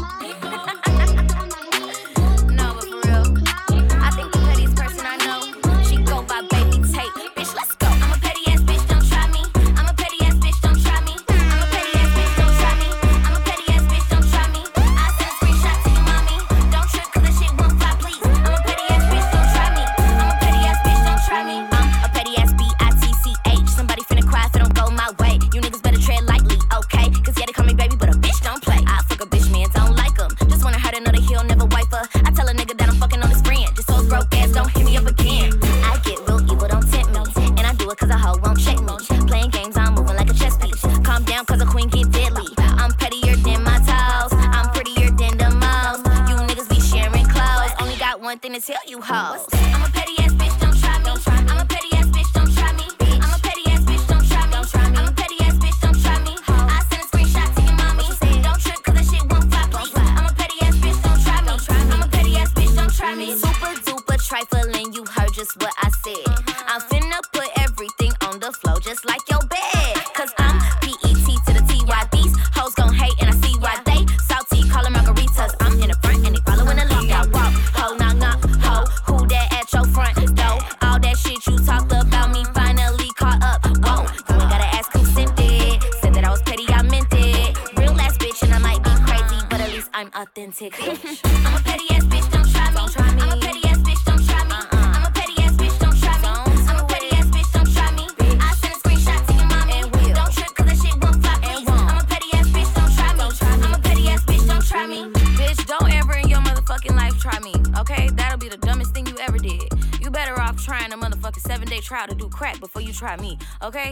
it? No, but for real, I think the pettiest person I know, she go by Baby Tate. Bitch, let's go. I'm a petty ass bitch, don't try me. I'm a petty ass bitch, don't try me. I'm a petty ass bitch, don't try me. I'm a petty ass bitch, don't try me. I send a screenshot to your mommy. Don't trip 'cause this shit won't fly, please. I'm a petty ass bitch, don't try me. I'm a petty ass bitch, don't try me. I'm a petty ass bitch. Somebody finna cry if it don't go my way. You niggas better tread lightly, okay? 'Cause yeah, they call me baby, but a bitch don't play. I fuck a bitch, man, don't like him. Just wanna hurt another heel, never wipe her. I tell a nigga that I'm fucking on his friend. Just so his broke ass don't hit me up again. I get real evil, don't tempt me. And I do it 'cause a hoe won't check me. Playing games, I'm moving like a chess piece. Calm down 'cause a queen get deadly. I'm pettier than my toes. I'm prettier than the most. You niggas be sharing clothes. Only got one thing to tell you hoes. I'm a petty ass bitch, don't try me. I'm a petty ass bitch, don't try me. I'm a petty ass bitch, don't try me. I'm a petty ass bitch, don't try me. I send a screenshot to your mommy. Don't trip 'cause that shit won't fly, please. I'm a petty ass bitch, don't try me. I'm a petty ass bitch, don't try me. Super duper trifling, you heard just what I said. I'm finna put everything on the floor just like your bed. 'Cause I'm PET to the TY. These hoes gon' hate and I see why they salty, callin' margaritas. I'm in the front and they following along. I walk, ho, knock, knock, ho. Who that at your front door? All that shit you talked about me finally caught up. Whoa, you ain't gotta ask who sent it. Said that I was petty, I meant it. Real ass bitch and I might be crazy, but at least I'm authentic. I'm a petty ass bitch, don't try me. I'm a petty ass bitch, don't try me. I'm a petty ass bitch, don't try me. I'm a petty ass bitch, don't try me. I send a screenshot to your mommy. Don't trip 'cause that shit won't fly, please. I'm a petty ass bitch, don't try me. I'm a petty ass bitch, don't try me. Bitch, don't ever in your motherfucking life try me, okay? That'll be the dumbest thing you ever did. You better off trying a motherfucking 7-day trial to do crack before you try me, okay?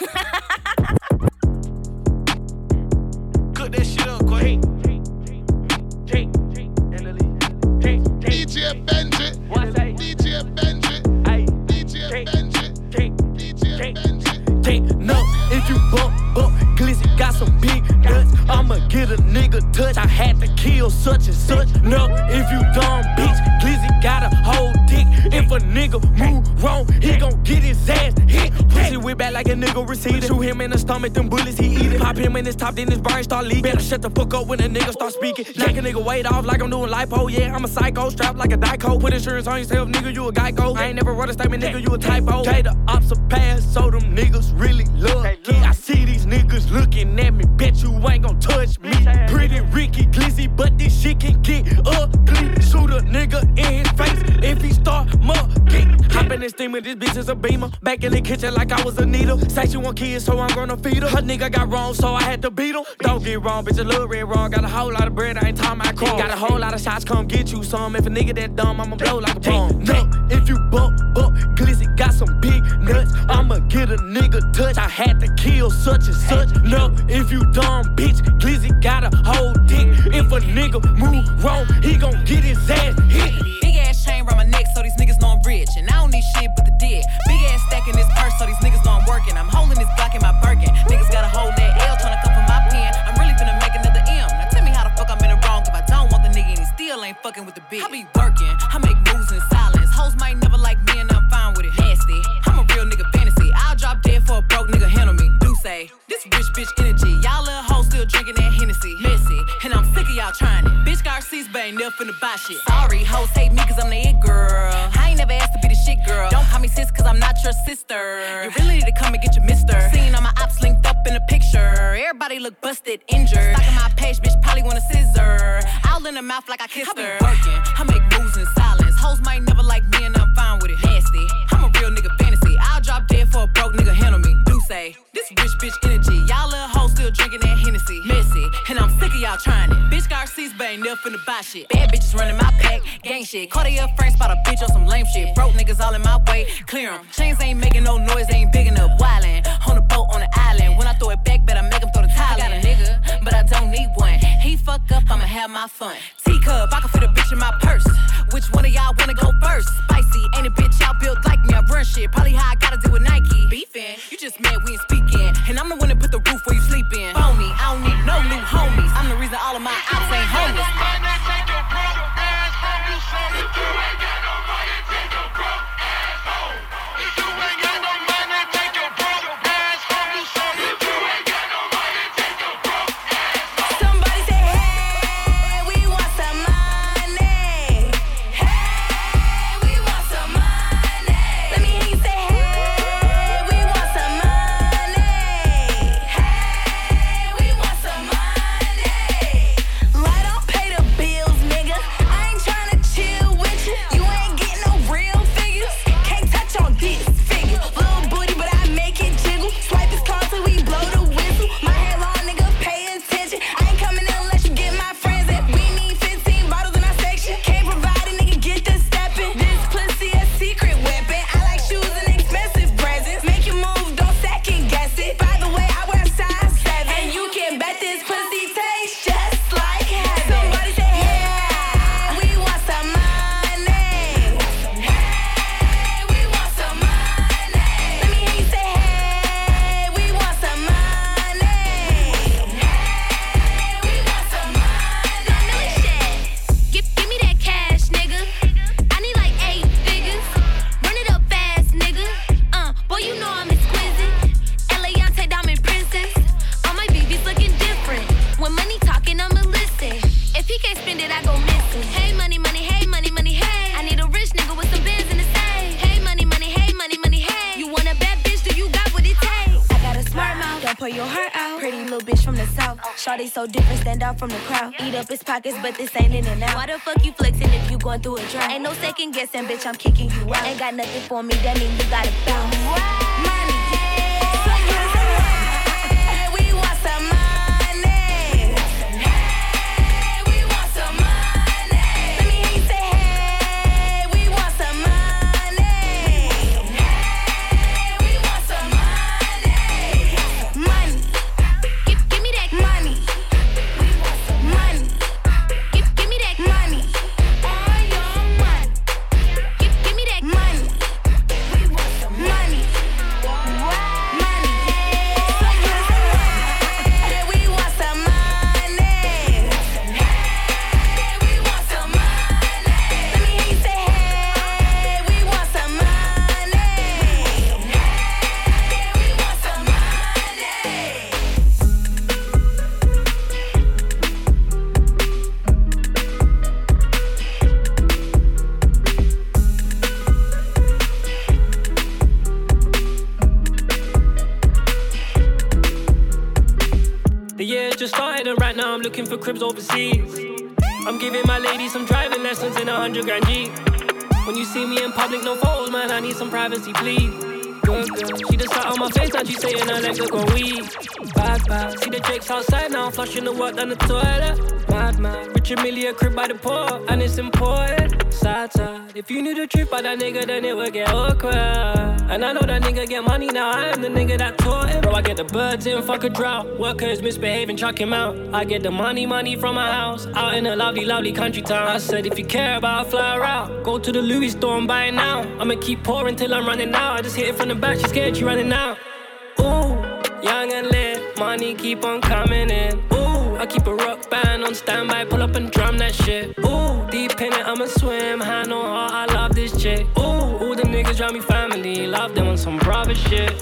Cook that shit up, quick. DJ Benji. DJ Benji. DJ Benji. DJ Benji. No, if you bump, Glizzy got some big nuts. I'ma get a nigga touch. I had to kill such and such. No, if you dumb bitch, Glizzy got a whole dick. If a nigga move wrong, he gon' get his ass hit. Pussy whip back like a nigga receiver. Shoot him in the stomach, them bullets he eat it. Pop him in his top, then his brain start leaking. Better shut the fuck up when a nigga start speaking. Knock a nigga weight off like I'm doing lipo. Yeah, I'm a psycho, strapped like a Dyco. Put insurance on yourself, nigga, you a Geico. I ain't never wrote a statement, nigga, you a typo. Okay, the ops are pass, so them niggas really love me. I see these niggas looking at me, bet you ain't gon' touch me. Pretty Ricky Glizzy, but this shit can get ugly. Shoot a nigga in his face if he start mugging. Hop in this steamer, this bitch is a beamer. Back in the kitchen like I was a needle. Say she want kids, so I'm gonna feed her. Her nigga got wrong, so I had to beat him. Don't get wrong, bitch, a little red wrong. Got a whole lot of bread, I ain't talking about crumb. Got a whole lot of shots, come get you some. If a nigga that dumb, I'ma blow like a bomb. No, if you bump, Glizzy got some big nuts. I'ma get a nigga touch. I had to kill such and such. No, if you dumb bitch, Glizzy got a whole dick. If a nigga move wrong, he gon' get his ass hit. Big ass chain around my neck so these niggas know I'm rich. And I don't need shit but the dick. Big ass stack in this purse so these niggas know I'm working. I'm holding this Glock in my Birkin. Niggas gotta hold that L tryna come for my pen. I'm really finna make another M. Now tell me how the fuck I'm in the wrong if I don't want the nigga and he still ain't fucking with the bitch. I be working, I make moves in silence. Hoes might never like me and I'm fine with it. Nasty, I'm a real nigga fantasy. I'll drop dead for a broke nigga, handle me. Do say, this rich bitch energy. Y'all little hoes still drinking that Hennessy. Messy, and I'm sick of y'all trying it. Bitch got receipts, but ain't never finna buy shit. Sorry, hoes hate me cause I'm the it girl. I ain't never asked to be the shit girl. Don't call me sis cause I'm not your sister. You really need to come and get your mister. Seen all my ops linked up in a picture. Everybody look busted, injured. Stalking my page, bitch probably want a scissor. All in the mouth like I kissed her. I be working, I make moves in silence. Hoes might never like me and I'm fine with it. Nasty, I'm a real nigga fantasy. I'll drop dead for a broke nigga, handle me. Do say, this rich bitch energy. Y'all little hoes still drinking that Hennessy. Messy, and I'm sick of y'all trying it. Bitch got receipts, but ain't never finna buy shit. Bad bitches running my pack, gang shit. Cartier Frank spot a bitch on some lame shit. Broke niggas all in my way, clear 'em. Chains ain't making no noise, they ain't big enough. Wildin', on the boat on the island. When I throw it back, better make 'em throw the tile. I got a nigga, but I don't need one. He fuck up, I'ma have my fun. Teacup, I can fit a bitch in my purse. Which one of y'all wanna go first? Spicy, ain't a bitch out built like me. I run shit, probably how I gotta deal with Nike. Beefin', you just mad we ain't speaking. And I'm the one that put the roof where you sleep in. Phony, I don't need no new homies. I'm the reason all of my ops ain't homeless. Shawty so different, stand out from the crowd. Eat up his pockets, but this ain't in and out. Why the fuck you flexing if you going through a drought? Ain't no second guessing, bitch, I'm kicking you out. Ain't got nothing for me, that mean you gotta bounce. Money. We want some money. We want some money. Let me hear you say, hey, we want some money. We want some money. Money. Give me that money. Money. Give me that money. All your money. Give me that money. Money. The year just started and right now I'm looking for cribs overseas. I'm giving my lady some driving lessons in 100 grand Jeep. When you see me in public, no photos, man, I need some privacy, please. Good girl, she just sat on my face and she saying her legs look on weed. Bad, bad, see the Drake's outside now, flushing the work down the toilet. Mad, man, Richard Millie a crib by the port, and it's important. Sad, sad, if you knew the truth about that nigga, then it would get awkward. And I know that nigga get money now, I am the nigga that taught him. Bro, I get the birds in, fuck a drought. Workers misbehaving, chuck him out. I get the money from my house, out in a lovely, lovely country town. I said if you care about a fly out, go to the Louis store and buy it now. I'ma keep pouring till I'm running out. I just hit it from the back, she scared she running out. Ooh, young and lit, money keep on coming in. Ooh, I keep a rock band on standby, pull up and drum that shit. Ooh, deep in it, I'ma swim, hand on heart, I love this chick. Ooh, all the niggas round me family, love them on some brother shit. She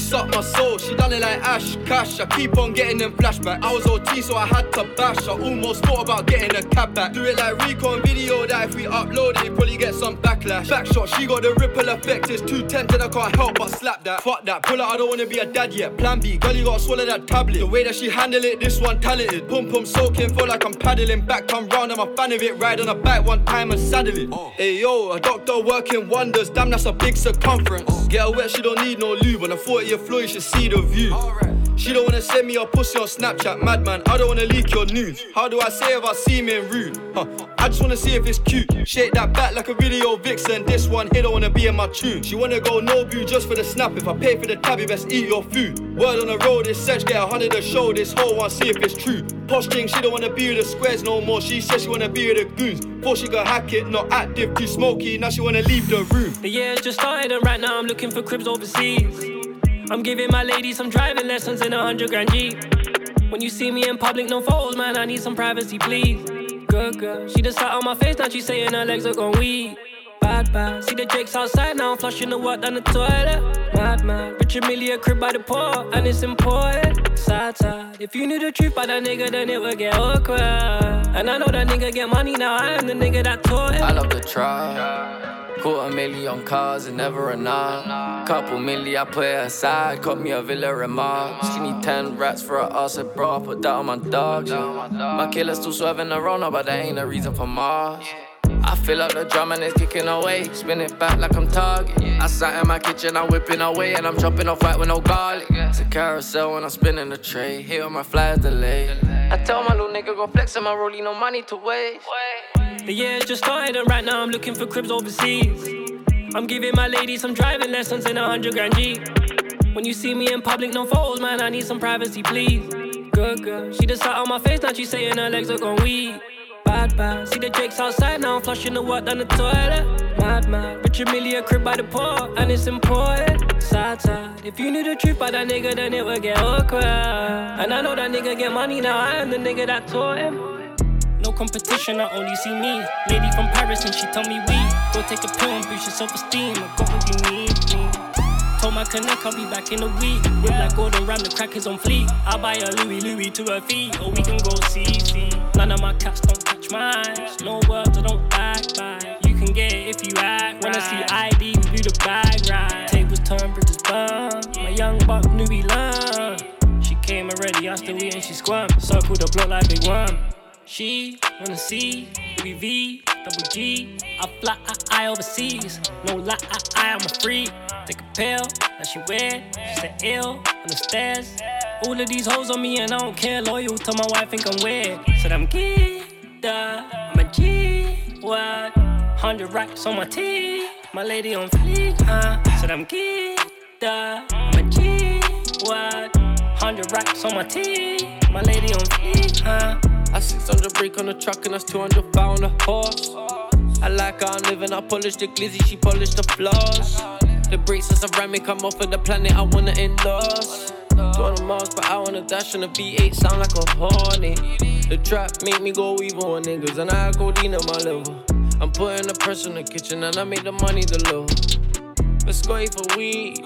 sucked my soul. She done it like Ash Cash. I keep on getting them flashbacks. I was OT, so I had to bash. I almost thought about getting a cab back. Do it like Recon video that if we upload it, probably get some backlash. Backshot, she got the ripple effect. It's too tempted, I can't help but slap that. Fuck that, pull out, I don't wanna be a dad yet. Plan B, girl, you gotta swallow that tablet. The way that she handle it, this one talented. Pum pum soaking, feel like I'm paddling. Back come round, I'm a fan of it. Ride on a bike one time and saddle it. Hey yo, a doctor working wonders. Damn, that's a big circumference. Get her wet, she don't need no lube. On a 40-year floor, you should see the view. She don't wanna send me a pussy on Snapchat, madman. I don't wanna leak your news. How do I say if I seem rude? I just wanna see if it's cute. Shake that back like a video vixen. This one here don't wanna be in my tune. She wanna go no view just for the snap. If I pay for the tab, you best eat your food. Word on the road, this search get 100 a show. This whole one, see if it's true. Posting, she don't wanna be with the squares no more. She says she wanna be with the goons. Before she could hack it, not active, too smoky. Now she wanna leave the room. The year's just started and right now I'm looking for cribs overseas. I'm giving my lady some driving lessons in a 100 grand Jeep. When you see me in public, no photos, man, I need some privacy, please. Good girl, she just sat on my face, now she saying her legs are gon' weak. Bad, bad, see the Jake's outside now, I'm flushing the water down the toilet. Mad, mad, Richard Millie a crib by the port, and it's important. Sad, sad, if you knew the truth about that nigga, then it would get awkward. And I know that nigga get money, now I am the nigga that taught him. I love the try. $250,000 cars and never enough. Couple milli, I put it aside. Got me a Villa remark. She need 10 rats for her ass, bro. I put that on my dog. My killer's still swerving around, but that ain't a reason for Mars. I fill up the drum and it's kicking away. Spin it back like I'm Target. I sat in my kitchen, I'm whipping away. And I'm dropping off white with no garlic. It's a carousel when I'm spinning the tray. Here on my flight delay. I tell my little nigga go flex on my rollie, no money to waste. The year's just started and right now I'm looking for cribs overseas. I'm giving my lady some driving lessons in a 100 grand Jeep. When you see me in public, no photos, man, I need some privacy, please. Good girl, she just sat on my face, now she saying her legs are gon' weak. Bad, bad, see the Jake's outside, now I'm flushing the water down the toilet. Mad, mad, Richard Millie a crib by the port, and it's important. Sad, sad, if you knew the truth about that nigga, then it would get awkward. And I know that nigga get money, now I am the nigga that taught him. No competition, I only see me. Lady from Paris and she tell me we go take a pill and boost your self-esteem. I got what you need me. Told my connect I'll be back in a week. Whip like Gordon Ram, the crack is on fleek. I'll buy a Louis to her feet, or we can go see. None of my cats don't touch mine. No words, I don't backbite. You can get it if you act. Wanna see ID, we do the bag right. Tables turn, bridges burn. My young buck knew we learn. She came already, I still eat and she squirm. Circle the block like big worm. She wanna see Louis V, double G. I fly, I overseas. No lie, I'm a freak. Take a pill, now she weird. She said ill on the stairs. All of these hoes on me and I don't care. Loyal to my wife, think I'm weird. Said I'm geeked up, I'm a G. What? 100 racks on my tee. My lady on fleek, Said I'm geeked up, I'm a G. What? 100 racks on my tee. My lady on fleek, I 600 brake on the truck and that's 200 pound a horse. I like how I'm living, I polish the glizzy, she polish the floors. The brakes are ceramic, I'm off of the planet, I wanna endorse. 200 miles per hour on the dash and the V8 sound like a horny. The trap make me go evil on niggas and I codeine on my liver. I'm putting the pressure in the kitchen and I make the money deliver. Let's go for weed,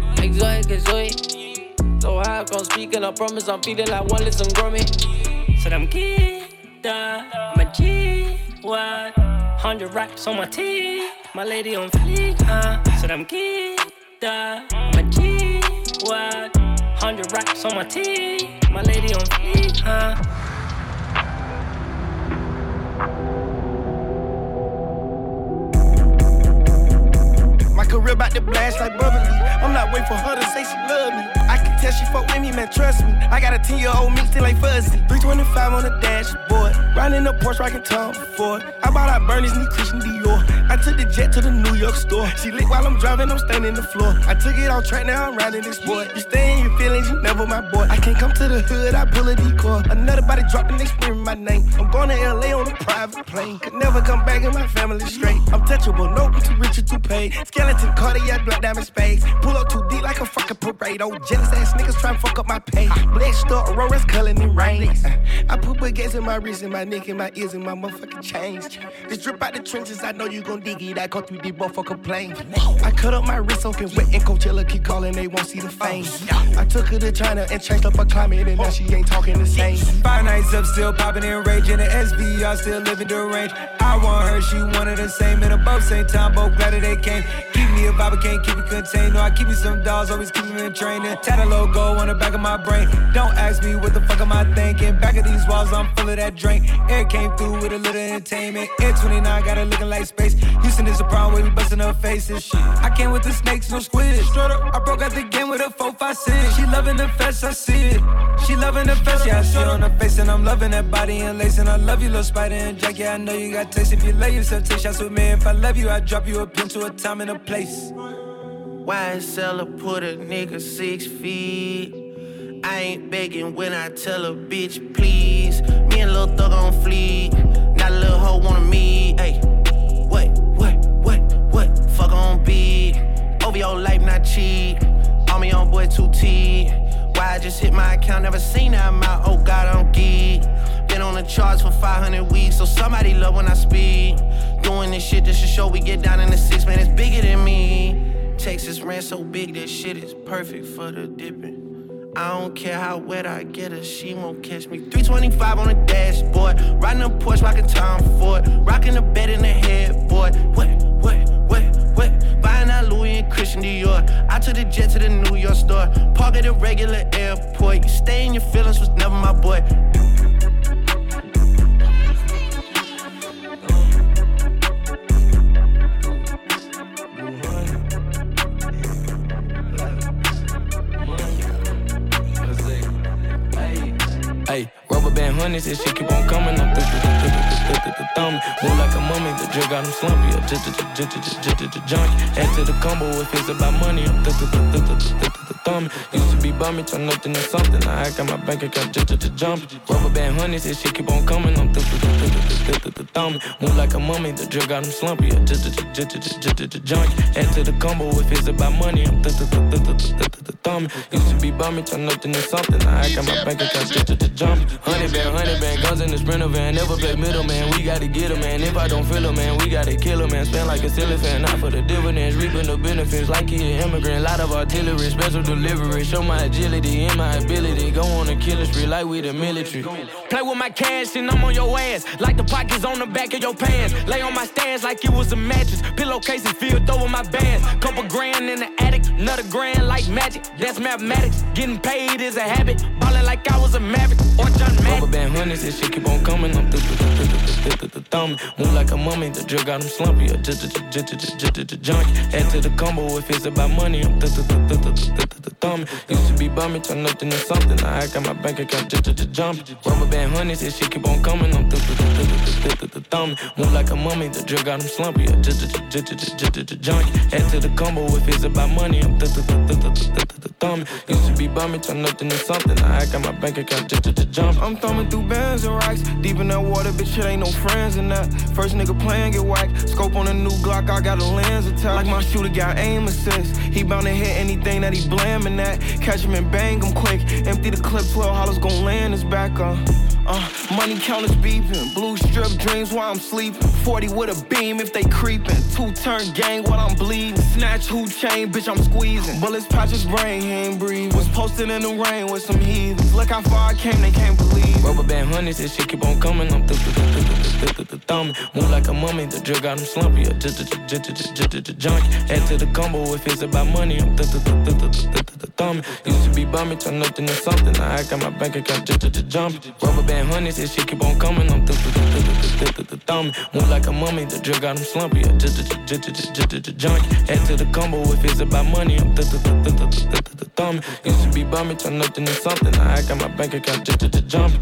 exotic. So high, I can't speak and I promise I'm feeling like one listen grummy. Said I'm geeked up, I'm a G. What? 100 racks on my tee. My lady on fleek, Said I'm geeked up, I'm a G. What? 100 racks on my tee. My lady on fleek, My career about to blast like bubbly. I'm not waiting for her to say she love me. I can tell she fuck with me, man, trust me. I got a 10-year-old me still ain't fuzzy. 325 on the dashboard. Riding the Porsche, rockin' Tom Ford. I bought out Bernie's new Christian Dior. I took the jet to the New York store. She lit while I'm driving, I'm standing on the floor. I took it off track, now I'm riding this boy. You stay in your feelings, you never my boy. I can't come to the hood, I pull a decoy. Another body dropped and they screaming my name. I'm going to LA on a private plane. Could never come back and my family straight. I'm touchable, nope, I'm too rich or too paid. Skeleton, Cartier, black diamond spades. Pull up 2 too deep like a fucking parade. Oh, jealous ass niggas tryna fuck up my pay. Blessed up, Aurora's culling in rain. I put baguettes in my wrist, and my neck, and my ears, and my motherfucking chains. This drip out the trenches, I know you gon' dig it. I go through the motherfucking plane. I cut up my wrist, soaking wet, and Coachella keep calling, they won't see the fame. I took her to China and changed up her climate, and now she ain't talking the same. 5 nights up, still popping and raging. The SVR still living the range. I want her, she wanted the same. And above same time, both glad that they came. Keep me a vibe, I can't keep it contained. No, I keep me some dolls, always keep me in training. Tat a logo on the back of my brain. Don't ask me what the fuck am I thinking. Back of these walls, I'm full of that drink. Air came through with a little entertainment. Air 29 got her looking like space. Houston is a problem where we busting her faces. Shit. I came with the snakes, no squid. Straight up, I broke out the game with a 4-5-6. She loving the fest, I see it. She loving the fest, yeah, I see it on her face. And I'm loving that body and lace. And I love you, little Spider and Jack. Yeah, I know you got taste. If you love yourself, take shots with me. If I love you, I drop you a pin to a time and a place. YSL put a nigga 6 feet. I ain't begging when I tell a bitch please. Me and Lil Thug on fleek. Not a little hoe wanna meet. Ay, what? Fuck on beat. OVO life not cheap. All me on boy 2T. Why I just hit my account, never seen that amount. Oh God, I'm geek. Been on the charts for 500 weeks, so somebody love when I speak. Doing this shit just to show we get down in the 6, man, it's bigger than me. Texas ran so big, that shit is perfect for the dipping. I don't care how wet I get her, she won't catch me. 325 on the dashboard, riding a Porsche, rocking Tom Ford, rocking the bed in the headboard. What? Buying out Louis and Christian Dior. I took the jet to the New York store, park at a regular airport. You stay in your feelings, was never my boy. Hey, rubber band honeys, this shit keep on coming. I'm thumb. Move like a mummy, the drip got him slumpy. Junkie. Add to the combo if it's about money. I'm thumb. Used to be bummy, turn nothing to something. Now I got my bank account jump. Rubber band honeys, this shit keep on coming. I'm thumb. Move like a mummy, the drip got him slumpy. Junkie. Add to the combo if it's about money. I'm thumb. Used to be bummy, turn nothing to something. Now I got my bank account jump. 100 band, guns in the Sprinter van. Never play middle, man. We gotta get her, man. If I don't feel her, man, we gotta kill her, man. Spend like a silly fan, not for the dividends. Reaping the benefits like he an immigrant. Lot of artillery, special delivery. Show my agility and my ability. Go on a killing spree like we the military. Play with my cash and I'm on your ass. Like the pockets on the back of your pants. Lay on my stands like it was a mattress. Pillowcases filled over my bands. Couple grand in the attic, another grand like magic. That's mathematics. Getting paid is a habit. Ballin' like I was a maverick or John Madden. Rubber band honeys, this shit keep on coming. I'm thumb. Move like a mummy, the drip got him slumpy. Junkie. Add to the combo if it's about money. I'm thumb. Used to be bummy, turn nothing to something. Now I got my bank account jump. Rubber band honeys, this shit keep on coming. I'm thumb. Move like a mummy, the drip got him slumpy. Junkie. Add to the combo if it's about money. I'm thumb. Used to be bummy, turn nothing to something. Now I got my bank account jump. I'm thumbing through bands and rocks. Deep in that water, bitch, it ain't no friends in that. First nigga playing, get whacked. Scope on a new Glock, I got a lens attached. Like my shooter got aim assist. He bound to hit anything that he blaming at. Catch him and bang him quick. Empty the clip, 12 hollows gon' land his back on. Money counters beeping. Blue strip dreams while I'm sleeping. 40 with a beam if they creeping. 2-turn gang while I'm bleeding. Snatch who chain, bitch, I'm squeezing. Bullets patch his brain, he ain't breathing. Was posted in the rain with some heathens. Look how far I came, they can't believe. Rubber band honeys, this shit keep on coming. I'm thumb. Move like a mummy, the drip got him slumpy. Junkie. Add to the combo if it's about money. I'm thumb. Used to be bummy, turn nothing to something. Now I got my bank account jump. Rubber band honeys, this shit keep on coming. I'm thumb. Move like a mummy, the drip got him slumpy. Junkie. Add to the combo if it's about money. I'm thumb. Used to be bummy, turn nothing to something. Now I got my bank account jump.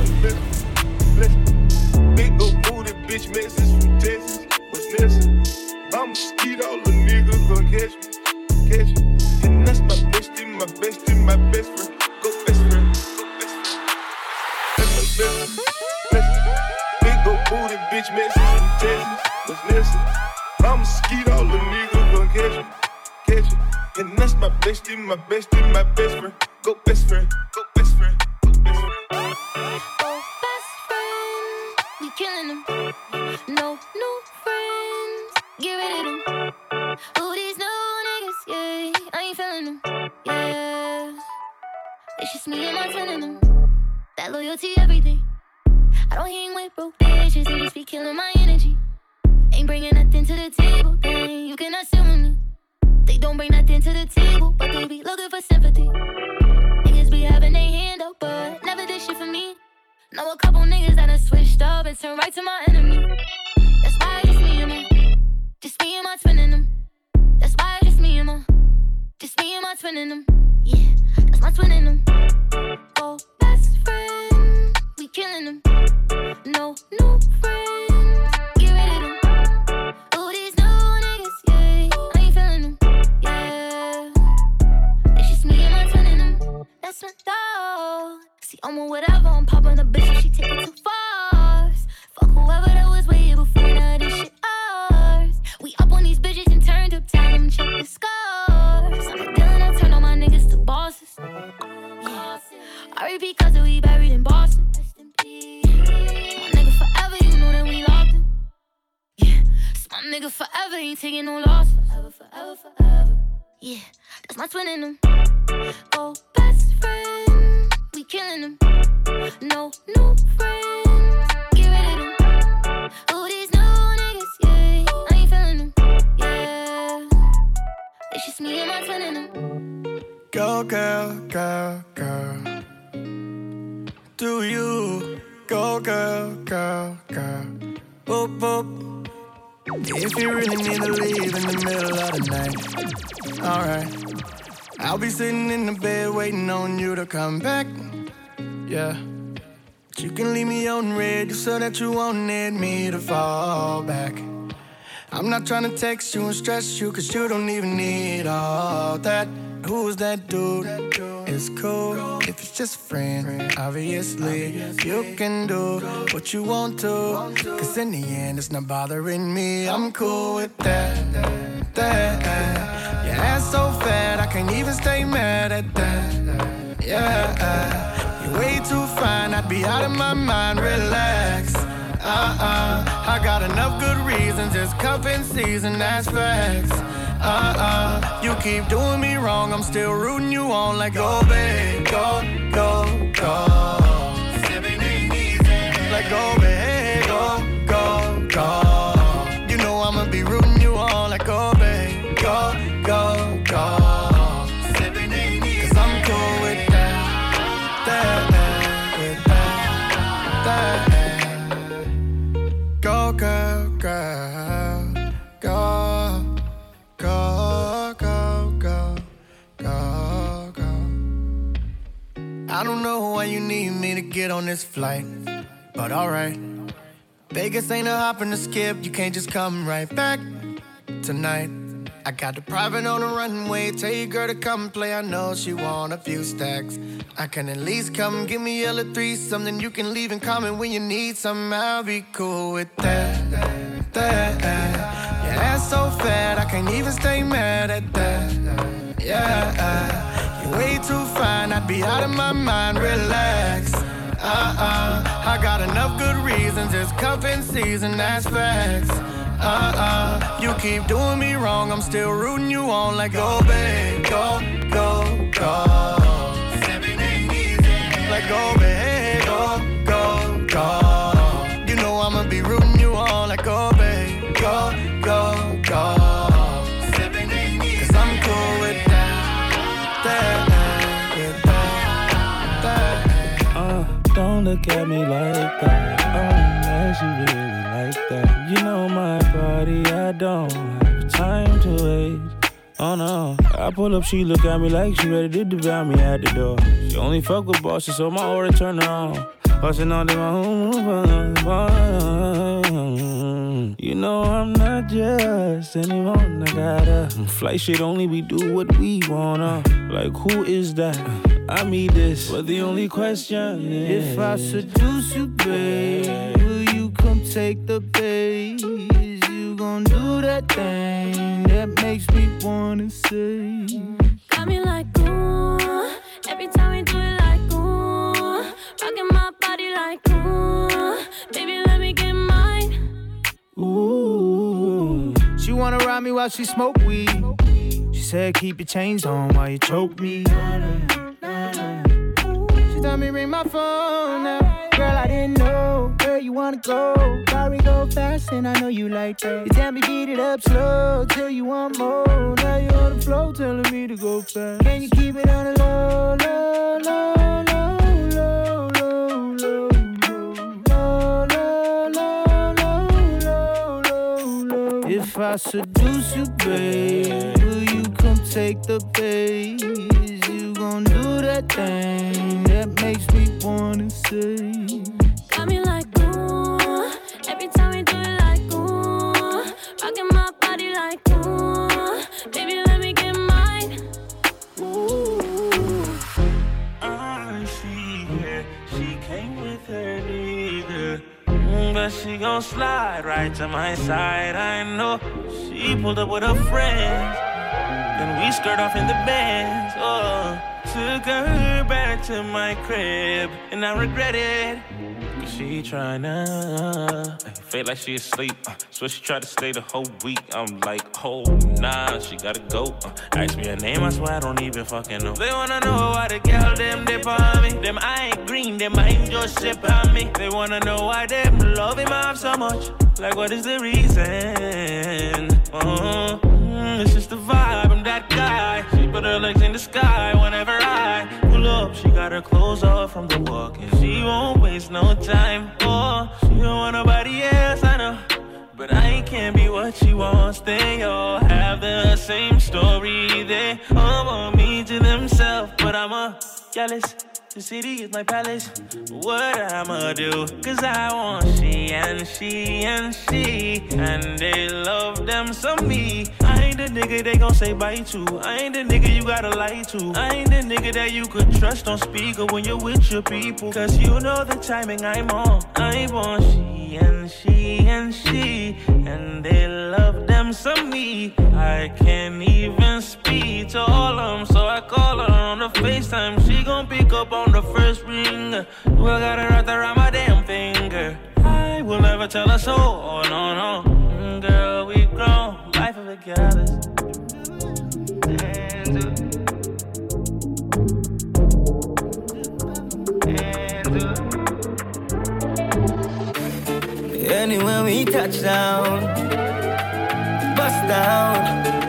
Big old booty bitch message from Texas. What's missing? I'm a skeet, all the niggas gon' catch me. And that's my bestie, my best friend. Go best friend. That's my best friend. Big old booty bitch message from Texas. What's missing? I'm a skeet, all the niggas gon' catch me. And that's my bestie, my bestie, my best friend. Go best friend, go best friend, go best friend. Oh, best friend, we killing them. No new friends, get rid of them. Who these new niggas, yeah, I ain't feeling them, yeah. It's just me and my twin in them. That loyalty, everything. I don't hang with broke bitches, they just be killing my energy. Ain't bringing nothing to the table, dang, you cannot sit with me. They don't bring nothing to the table, but they be looking for sympathy. Niggas be having their hand up, but never did shit for me. Know a couple niggas that done switched up and turned right to my enemy. That's why it's me and my twin in them. That's why it's me and my twin in them. Yeah, that's my twin in them. Oh, best friend, we killing them. No new friends, get rid of them. Ooh, these new niggas, yeah, I ain't feeling them, yeah. It's just me and my twin in them. That's my dog. See, I'm on whatever, I'm popping a bitch and she take it too far. Fuck whoever that was way here before, now this shit ours. We up on these bitches and turned up, tell them check the scores. I'm a dealer, I turn all my niggas to bosses. Yeah, R.E.P. cause we buried in Boston. My nigga forever, you know that we locked him. Yeah, it's my nigga forever, ain't taking no loss. Forever, forever, forever. Yeah, that's my twin in them. Oh, best friend, we killing them. No new friends, get rid of them. Who these new niggas, yeah, I ain't feeling them, yeah. It's just me and my twin in them. Go, girl, girl, girl. Do you go, girl, girl, girl? Boop, boop. If you really need to leave in the middle of the night, alright. I'll be sitting in the bed waiting on you to come back. Yeah. But you can leave me on red so that you won't need me to fall back. I'm not trying to text you and stress you, cause you don't even need all that. Who's that dude? It's cool if it's just a friend. Obviously, you can do what you want to, cause in the end it's not bothering me. I'm cool with that. Your ass so fat I can't even stay mad at that. Yeah, you're way too fine, I'd be out of my mind. Relax. I got enough good reasons, it's cuffing season, that's facts. You keep doing me wrong, I'm still rooting you on like go, babe, go, go, go. Like go, babe, go, go, go. You know I'ma be rooting you on like go, babe, go, go, go. Cause I'm cool with that, with that. Go, girl, girl, go, go, go, go, go, go. I don't know why you need me to get on this flight, but alright. Vegas ain't a hop and a skip, you can't just come right back tonight. I got the private on the runway, tell your girl to come play, I know she want a few stacks. I can at least come give me a little threesome, then you can leave and comment when you need some, I'll be cool with that. Your ass so fat, I can't even stay mad at that. Yeah, you're way too fine, I'd be out of my mind, relax. I got enough good reasons, it's cuffing season, that's facts. You keep doing me wrong, I'm still rooting you on like go, babe, go, go, go. Like go, babe, go, go, go. You know I'ma be rooting you on like go, babe, go, go, go. Cause I'm cool with that. Don't look at me like that. Unless you really like that. You know my body, I don't have time to waste. Oh no, I pull up, she look at me like she ready to devour me at the door. She only fuck with bosses, so my order turn her on. Bustin' all day, my home. You know I'm not just anyone. I got a flight shit only, we do what we wanna. Like who is that? I mean this, but the only question is if I seduce you, babe, will you come take the bait? Is you gon' do that thing that that makes me wanna say. Got me like, ooh. Every time we do it like, ooh. Rocking my body like, ooh. Baby, let me get mine. Ooh. She wanna ride me while she smoke weed. She said keep your chains on while you choke me. She told me ring my phone now. Girl, I didn't know where you wanna go. Sorry, go fast and I know you like that. You tell me beat it up slow till you want more. Now you on the floor telling me to go fast. Can you keep it on the low, low, low, low, low, low, low, low, low, low, low, low, low. If I seduce you, babe, will you come take the bait? Is you gon' do that thing that makes me wanna say? Got me like, ooh. Every time we do it like, ooh. Rocking my body like, ooh. Baby, let me get mine. Ooh. She came with her nigga. But she gon' slide right to my side. I know she pulled up with her friends. Then we skirt off in the Benz. Oh, took her back to my crib, and I regret it. Cause she tryna feel like she asleep. So she tried to stay the whole week. I'm like, oh nah, she gotta go. Ask me her name, I swear I don't even fucking know. They wanna know why the girl them dip on me. Them I ain't green, them I ain't just sip on me. They wanna know why them love him off so much. Like what is the reason? It's just the vibe, I'm that guy. She put her legs in the sky whenever I pull up. She got her clothes off from the walk, and she won't waste no time. Oh, she don't want nobody else, I know. But I can't be what she wants. They all have the same story. They all want me to themselves, but I'm a jealous. The city is my palace. What I'ma do? Cause I want she and she and she. And they love them some me. I ain't the nigga they gon' say bye to. I ain't the nigga you gotta lie to. I ain't the nigga that you could trust on speaker when you're with your people. Cause you know the timing I'm on. I want she and she and she. And they love them some me. I can't even speak to all of them. So I call her on the FaceTime. She gon' pick up on the first ring. Well, got her right around my damn finger. I will never tell her so. Oh, no, no. Girl, we grown. Life of it gathers. Anywhere we touch down, bust down.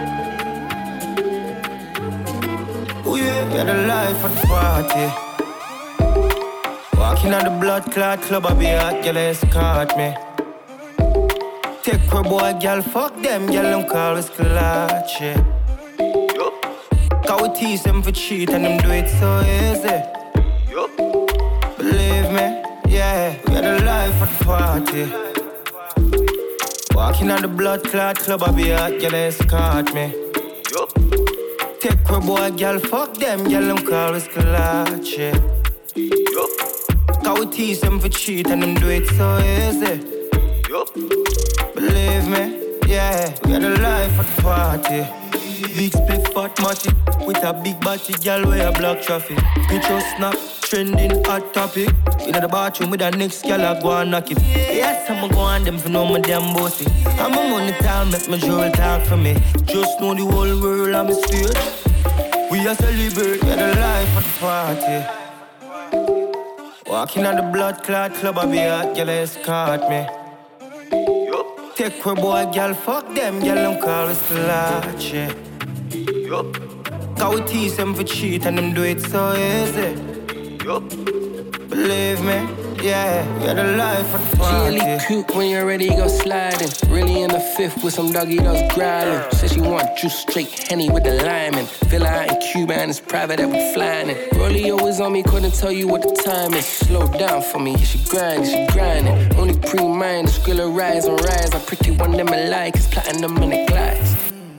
Oh yeah, we're the life of the party. Walking on the blood clot club, I be hot, girl, escort me. Take her boy, girl, fuck them, girl, them call us clutch, yeah. Cause we tease them for cheat and them do it so easy. Believe me, yeah, we're the life of the party. Walking on the blood clot club, I be hot, girl, escort me. Take her boy, girl, fuck them, girl, them call us clutch, yeah. Cause we tease them for cheat and them do it so easy. Believe me, yeah, we are the life of the party. Big split fat matty with a big body, girl, where a block traffic. Picture snap, trending hot topic. In the bathroom with the next girl, I go and knock it. Yes, I'ma go on them for no my damn bossy. I'm a money time, make my jewel talk for me. Just know the whole world I'm a stage. We are celebrate, we are the life of the party. Walking on the blood clot club, I be hot, girl, escort me. Take her boy, girl, fuck them, girl, them call us clutch, yeah. Cause we tease them for cheat and them do it so easy. Believe me, yeah, we are the life of the party. She really cute when you're ready, go sliding. Really in the fifth with some doggy dogs growling. Said she want juice straight Henny with the lime in. Villa out in Cuba and it's private that we flying in. Rollie always on me, couldn't tell you what the time is. Slow down for me, she grinding. Only pre-mind, the skrilla rise and rise. I pretty one them alike, it's platinum in the glass.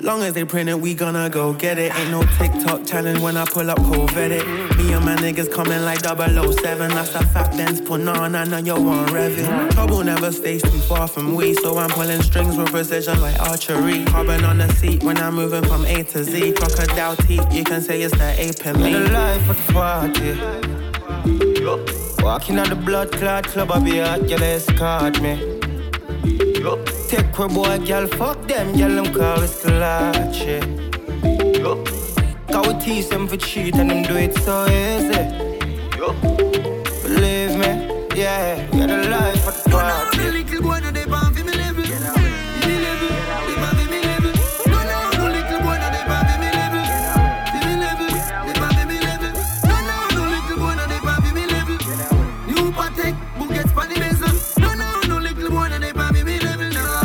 Long as they print it, we gonna go get it. Ain't no TikTok challenge when I pull up Corvette. Me and my niggas coming like 007. That's a fat Benz put on, I know you want revving. Trouble never stays too far from we, so I'm pulling strings with precision like archery. Carbon on the seat when I'm moving from A to Z. Crocodile teeth, you can say it's the ape in me. The life of the party. Walking on the blood clot club, I be hot, girl escort me. Take a boy, girl, fuck them, girl, them call us clutch, yeah. Cause we tease them for cheat and them do it so easy. Believe me, yeah, we're the life of the party. No, little boy, no, they bomb for me level. They bomb for me level. No, little boy, no, they bomb for me level. They bomb for me level. No, little boy, no, they bomb for me level. New Patek, Bugatti, Spanish Mason. No, little boy, no, they bomb for me level.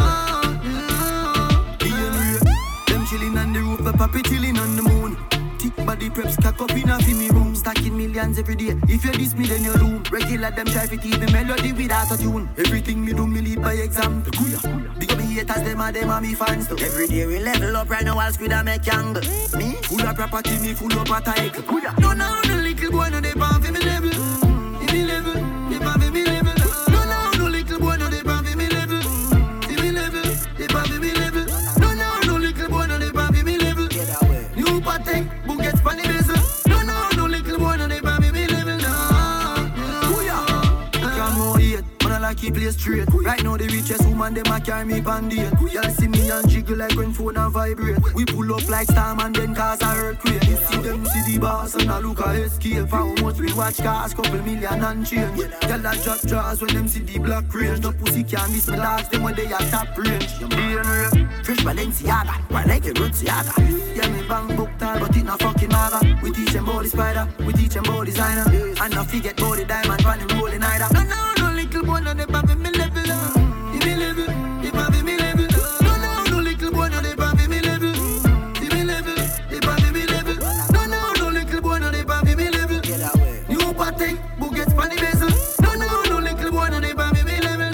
Papi chillin' on the moon. Thick body preps, cock up in a me room. Stacking millions every day. If you diss me, then you doom. Regular them try to keep the melody without a tune. Everything me do, me lead by example. Big up me haters, them are me fans too. Every day we level up right now, I'll squid and make angle. Me, full of property, me full of attack. No, little boy, no, they bomb for me level. In me level, they bomb for me level. No, little boy, no, they bomb for me level. In me level, they bomb for me level. No, little boy, no, they bomb for me level. New Patek, Bugatti, Spanish Mason. No, little boy, no, they bomb me level. No, come on, yet, but I like keep play straight. Right now, the richest woman, them a carry me bandit. Y'all see me and jiggle like when phone and vibrate. We pull up like storm and then cause a earthquake. You see them see the boss and I look at escape. How much we watch cars, couple million and change. Y'all a drop jaws when them see the black range. No pussy can miss me dogs, them when they are top range. Fresh Balenciaga, why like a Rutsiaga. Yeah, me bang book tall, but it not fucking maga. We teach them about the spider, we teach them about designer. And not forget about the diamond, when they rolling either. No, little boy, no, they bomb me level. In me level, they bomb me level. No, little boy, no, they bomb me level. In me level, they bomb me level. No, little boy, no, they bomb me level. New Patek, Bugatti, Spanish Mason. No, little boy, no, they bomb me level.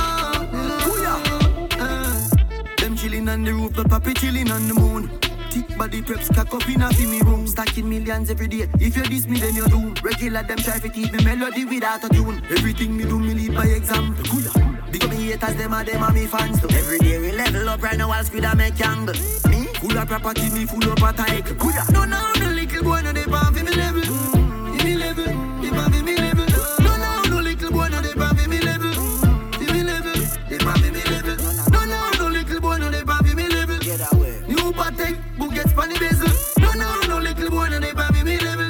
Them chillin' on the roof, the papi chillin' on the moon. Thick body preps, cock up in a me room. Stacking millions every day. If you diss me, then you doom. Regular them try to keep me melody without a tune. Everything me do, me lead by example. Big up me haters, them are me fans too. Every day we level up right now, I'll squid and make angle. Me, full of property, me full of attack. No, little boy, no, they bomb for me level. In me level, they bomb for me level. No, little boy, no, they bomb for me level. In me level, they bomb for me level. No, little boy, no, they bomb for me level. New Patek, Bugatti, Spanish Mason. No, little boy, no, they bomb for me level.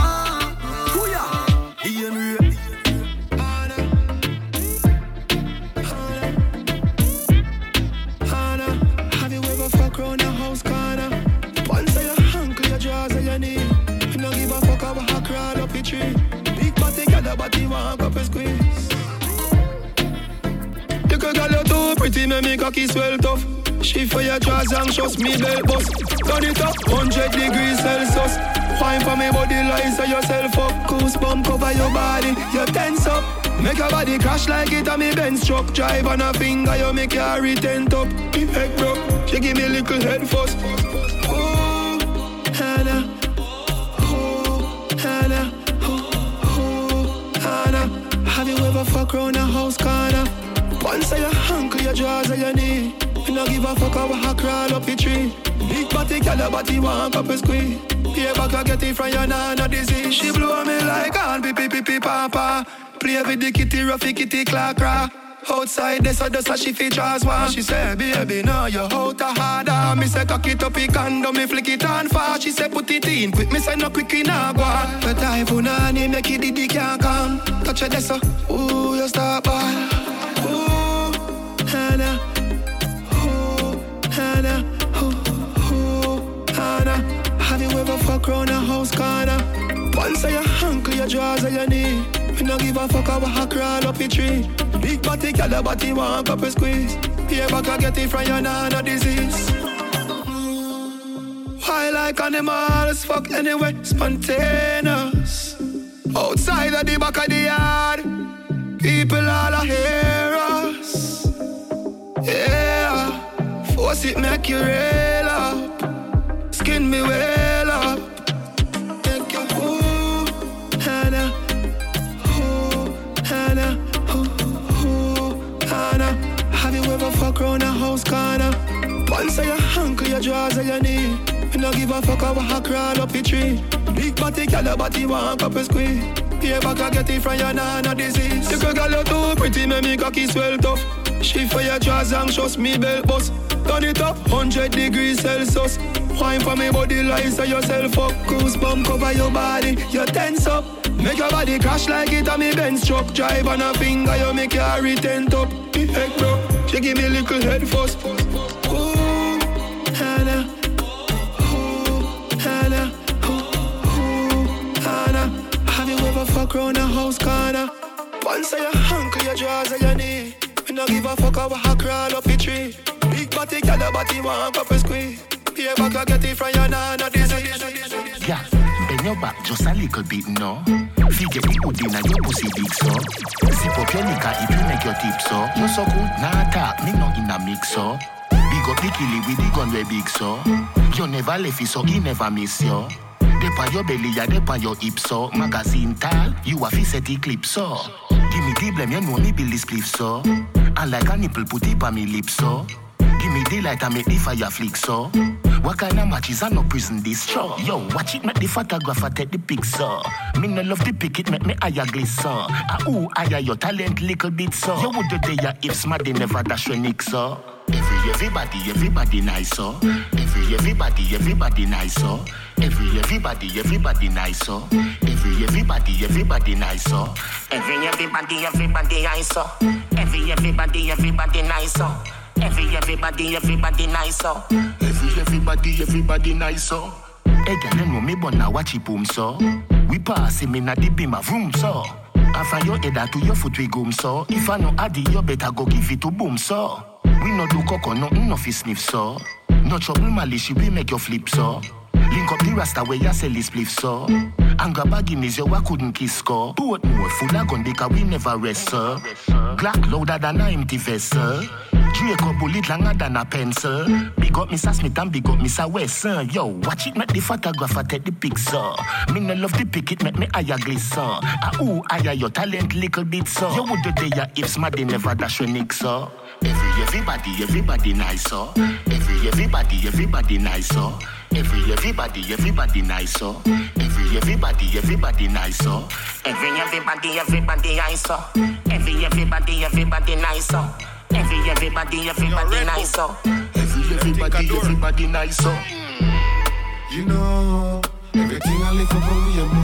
Have you ever fuck round a house corner? Once your ankle, your jaws and your knee. You don't give a fuck about how crawl up the tree. Big body, got a body, walk up and squeeze. You could call you too pretty, make cocky swell tough. She for your jaws anxious, me belt bust. Turn it up, 100 degrees Celsius. Wine for me body, lies on yourself up. Goosebump cover your body, you tense up. Make your body crash like it on me Benz truck. Drive on a finger, you make your retent up. Me head broke, she give me a little head fuss. Oh, Hannah. Oh, Hannah. Oh, Hannah. Have you ever fuck round a house corner? Once your ankle, your jaws and your knee. You don't give a fuck about how crawl up the tree. Big body, girl, your body want up and squeeze. Pay back, I get it from your nana disease. She blow me like on pee papa. Play with the kitty, roughy kitty, clack crack. Outside, this or she features one. She say, baby, now you out a harder. Me say, cock it up, it condom, me flick it on fast. She say, put it in quick, me say, no quick in a guan. But I put on him, make it diddy can't come. Touch it, this ooh, you start ball. Ooh, Hannah. Hannah, Hannah. Have you ever fuck round a house corner? Once your ankle, your jaws and your knee. We don't give a fuck about how crawl up the tree. Big body, girl, your body want up and squeeze. Pay back, I get it from your nana disease. Why like animals, fuck anyway, spontaneous. Outside of the back of the yard, people all hear us. Yeah. Force it, make you real up. wind me well up. Make you ooh, Hannah, ooh, Hannah, ooh, Hannah. Have you ever fuck round a house corner? Once your ankle, your drawers and your knee. Me no give a fuck how I crawl up the tree. Big body, girl, your body want up a squeeze. Pay back I get it from your nana disease. You girl, you too pretty, make me cocky swell tough. She for your drawers anxious, me belt bust. Turn it up, 100 degrees Celsius. Wine for me body like so yourself up. Goosebump cover your body, you tense up. Make your body crash like it on me Benz truck. Drive on a finger, you make your retent up. The heck bro, she give me a little head first. Ooh, Hannah, ooh, Hannah, ooh, Hannah. Have you ever fuck round a house corner? Once your ankle, your drawers and your knee. Me no give a fuck how I crawl up the tree. Big body, girl, your body want up a squeeze. Pay back I get it from your nana disease. Yeah, bend your back just a little bit, no. Figure the hood in your pussy big so. Zip up your liquor if you make your tip so. You so good, nah talk, me no in a mix so. Big up the killie with the gun way big so. You never left it so he never miss you. Dep on your belly, ya dep on your hip so. Magazine tall, you a fi set the clip so. Give me the blame, you know me build this cliff so. And like a nipple put it on me lips so. Give me the light and make the fire flick so. What kind of matches are no prison this show? Yo, watch it make the photographer take the pic so. Me no love the pic, it make me eye glisten. Ooh, eye your talent little bit so. You would do the if smart they never dash your nick so. Everybody nice so. Everybody nice so. Everybody nice so. Everybody nice so. Everybody nice so. Everybody nice so. Everybody nice so. Everybody nice so. Hey girl, you know me but now watch it boom so. We pass him in a the beam of room so. And from your head to your foot we goom so. If I know Addy, you better go give it to boom so. We no do cocoa, nothing no fi sniff so. No trouble malice, we make you flip so. Link up the rasta where you sell this spliff so. And grab a Guinness, you couldn't kiss score. Boat more full of gun because we never rest sir. Glock louder than a empty vessel. Draco bullet longer than a pencil. Big up Mr. Smith and big up Mr. West sir. Yo, watch it make the photographer take the pic sir. Me no love the pic, it make me eye glisten. Ooh, eye your talent little bit sir. You would do there if smart they never dash your nick sir. Everybody nice so. Everybody nice so. Everybody nice so. Everybody nice so. Everybody nice so. Everybody nice so. Everybody nice so. Everybody nice so. You know, everything I live up on me a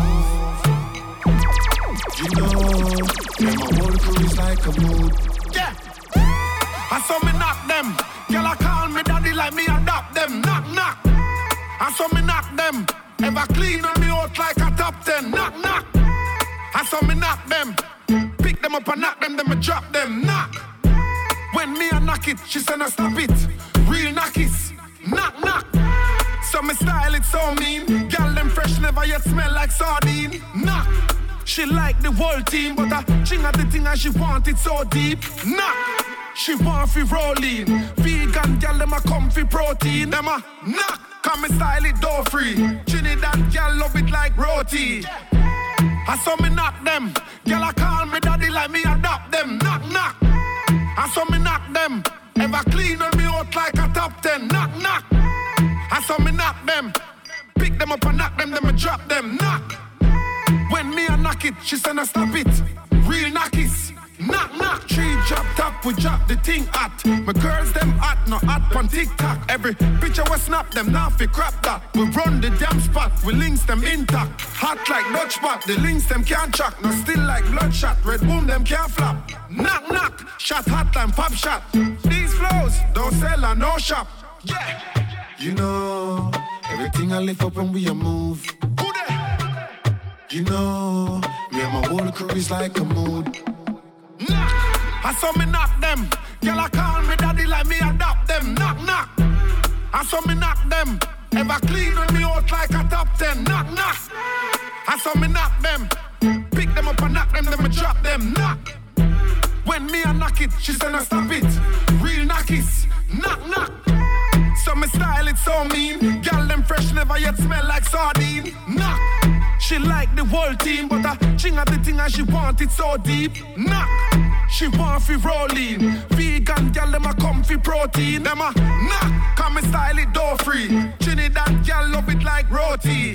move. You know, yeah, my whole crew is like a mood. Yeah, I saw me knock them. Girl, I call me daddy like me adopt them. Knock, knock. I saw me knock them. Ever clean on me out like a top 10. Knock, knock. I saw me knock them. Pick them up and knock them, then me drop them. Knock. When me a knock it, she said no stop it. Real knockies. Knock, knock. So me style it so mean. Girl, them fresh never yet smell like sardine. Knock. She like the whole team, but I ching at the thing and she want it so deep. Knock. She want fi rolling. Vegan girl, them a comfy protein. Them a knock. Come me style it door free. Trinidad girl love it like roti. I saw me knock them. Girl, I call me daddy like me adopt them. Knock, knock. I saw me knock them. Ever clean on me out like a top 10. Knock, knock. I saw me knock them. Pick them up and knock them, then me drop them. Knock. When me a knock it, she said no stop it. Real knockies. Knock, knock. Tree drop top, we drop the thing hot. My girls them hot, no hot on TikTok. Every picture we snap them, now fi crap that. We run the damn spot, we links them intact. Hot like Dutch spot, the links them can't track. No still like bloodshot, red boom them can't flap. Knock, knock, shot hot and pop shot. These flows, don't sell and no shop. Yeah. You know, everything I lift up when we a move. Who there? You know, me and my whole crew is like a mood. Knock. I saw me knock them. Girl, I call me daddy like me adopt them. Knock, knock. I saw me knock them. Ever clean on me out like a top 10. Knock, knock. I saw me knock them. Pick them up and knock them, then me drop them. Knock. When me a knock it, she said no stop it. Real knockies. Knock, knock. So me style it so mean. Girl, them fresh never yet smell like sardine. Knock. She like the whole team, but I ching at the thing and she want it so deep. Knock. She want fi rolling. Vegan gal them a comfy protein. Them a knock. Come and style it door free. Trinidad gal love it like roti.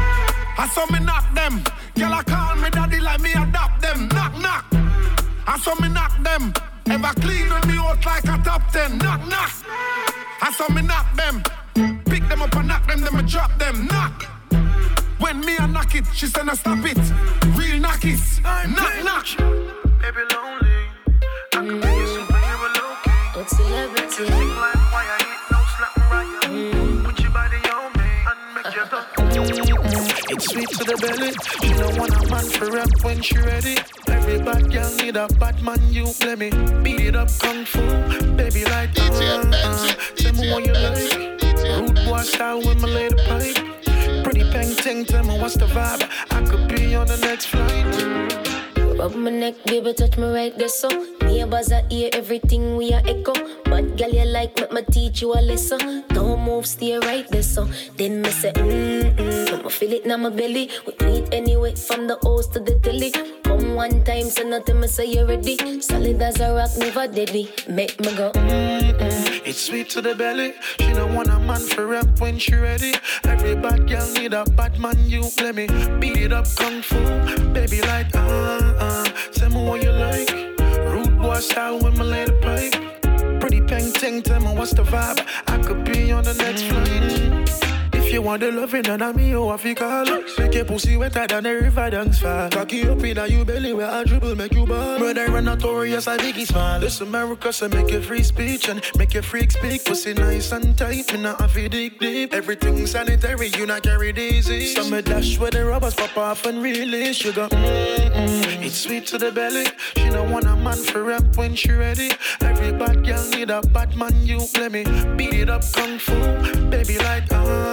I saw me knock them. Gal I call me daddy like me adopt them. Knock knock. I saw me knock them. Ever clean on me out like a top 10. Knock knock. I saw me knock them. Pick them up and knock them, then I drop them. Knock. When me a knock it, she said no stop it. Real knock it. Knock knock. Baby lonely. I can make you superhero low-key. It's celebrity. Like why I hit no slap Mariah. Put your body on me and make your duck. It's sweet to the belly. She don't want a man for rap when she ready. Every bad girl need a bad man, you play me. Beat it up kung fu, baby like tell me what you like. Rude boy style with my lady pipe. Pretty painting, tell me what's the vibe. I could be on the next flight. Rub my neck, baby, touch me right there, so neighbors are hear everything we are echo. But girl, you like me teach you a lesson. Don't move, stay right there, so then me say, I'ma feel it now my belly. We meet anyway, from the house to the telly. Come one time, so nothing me say you ready. Solid as a rock, never deadly. Make me go, It's sweet to the belly. She don't want a man for rap when she ready. Every bad girl need a bad man, you play me. Beat it up kung fu, baby like tell me what you like. Rude boy style with my lady pipe. Pretty painting, tell me what's the vibe. I could be on the next flight. If you want the loving, then I'm me, oh, I feel call. Make your pussy wetter than the river dance fall. Cocky up in you belly where I dribble, make you ball. Murder and notorious, I biggie small. This America, so make your free speech and make your freak speak. Pussy nice and tight, me not have to dig deep. Everything sanitary, you not carry disease. So me dash where the rubbers pop off and release. Sugar, It's sweet to the belly. She don't want a man for rap when she ready. Every bad girl need a bad man, you play me. Beat it up kung fu, baby like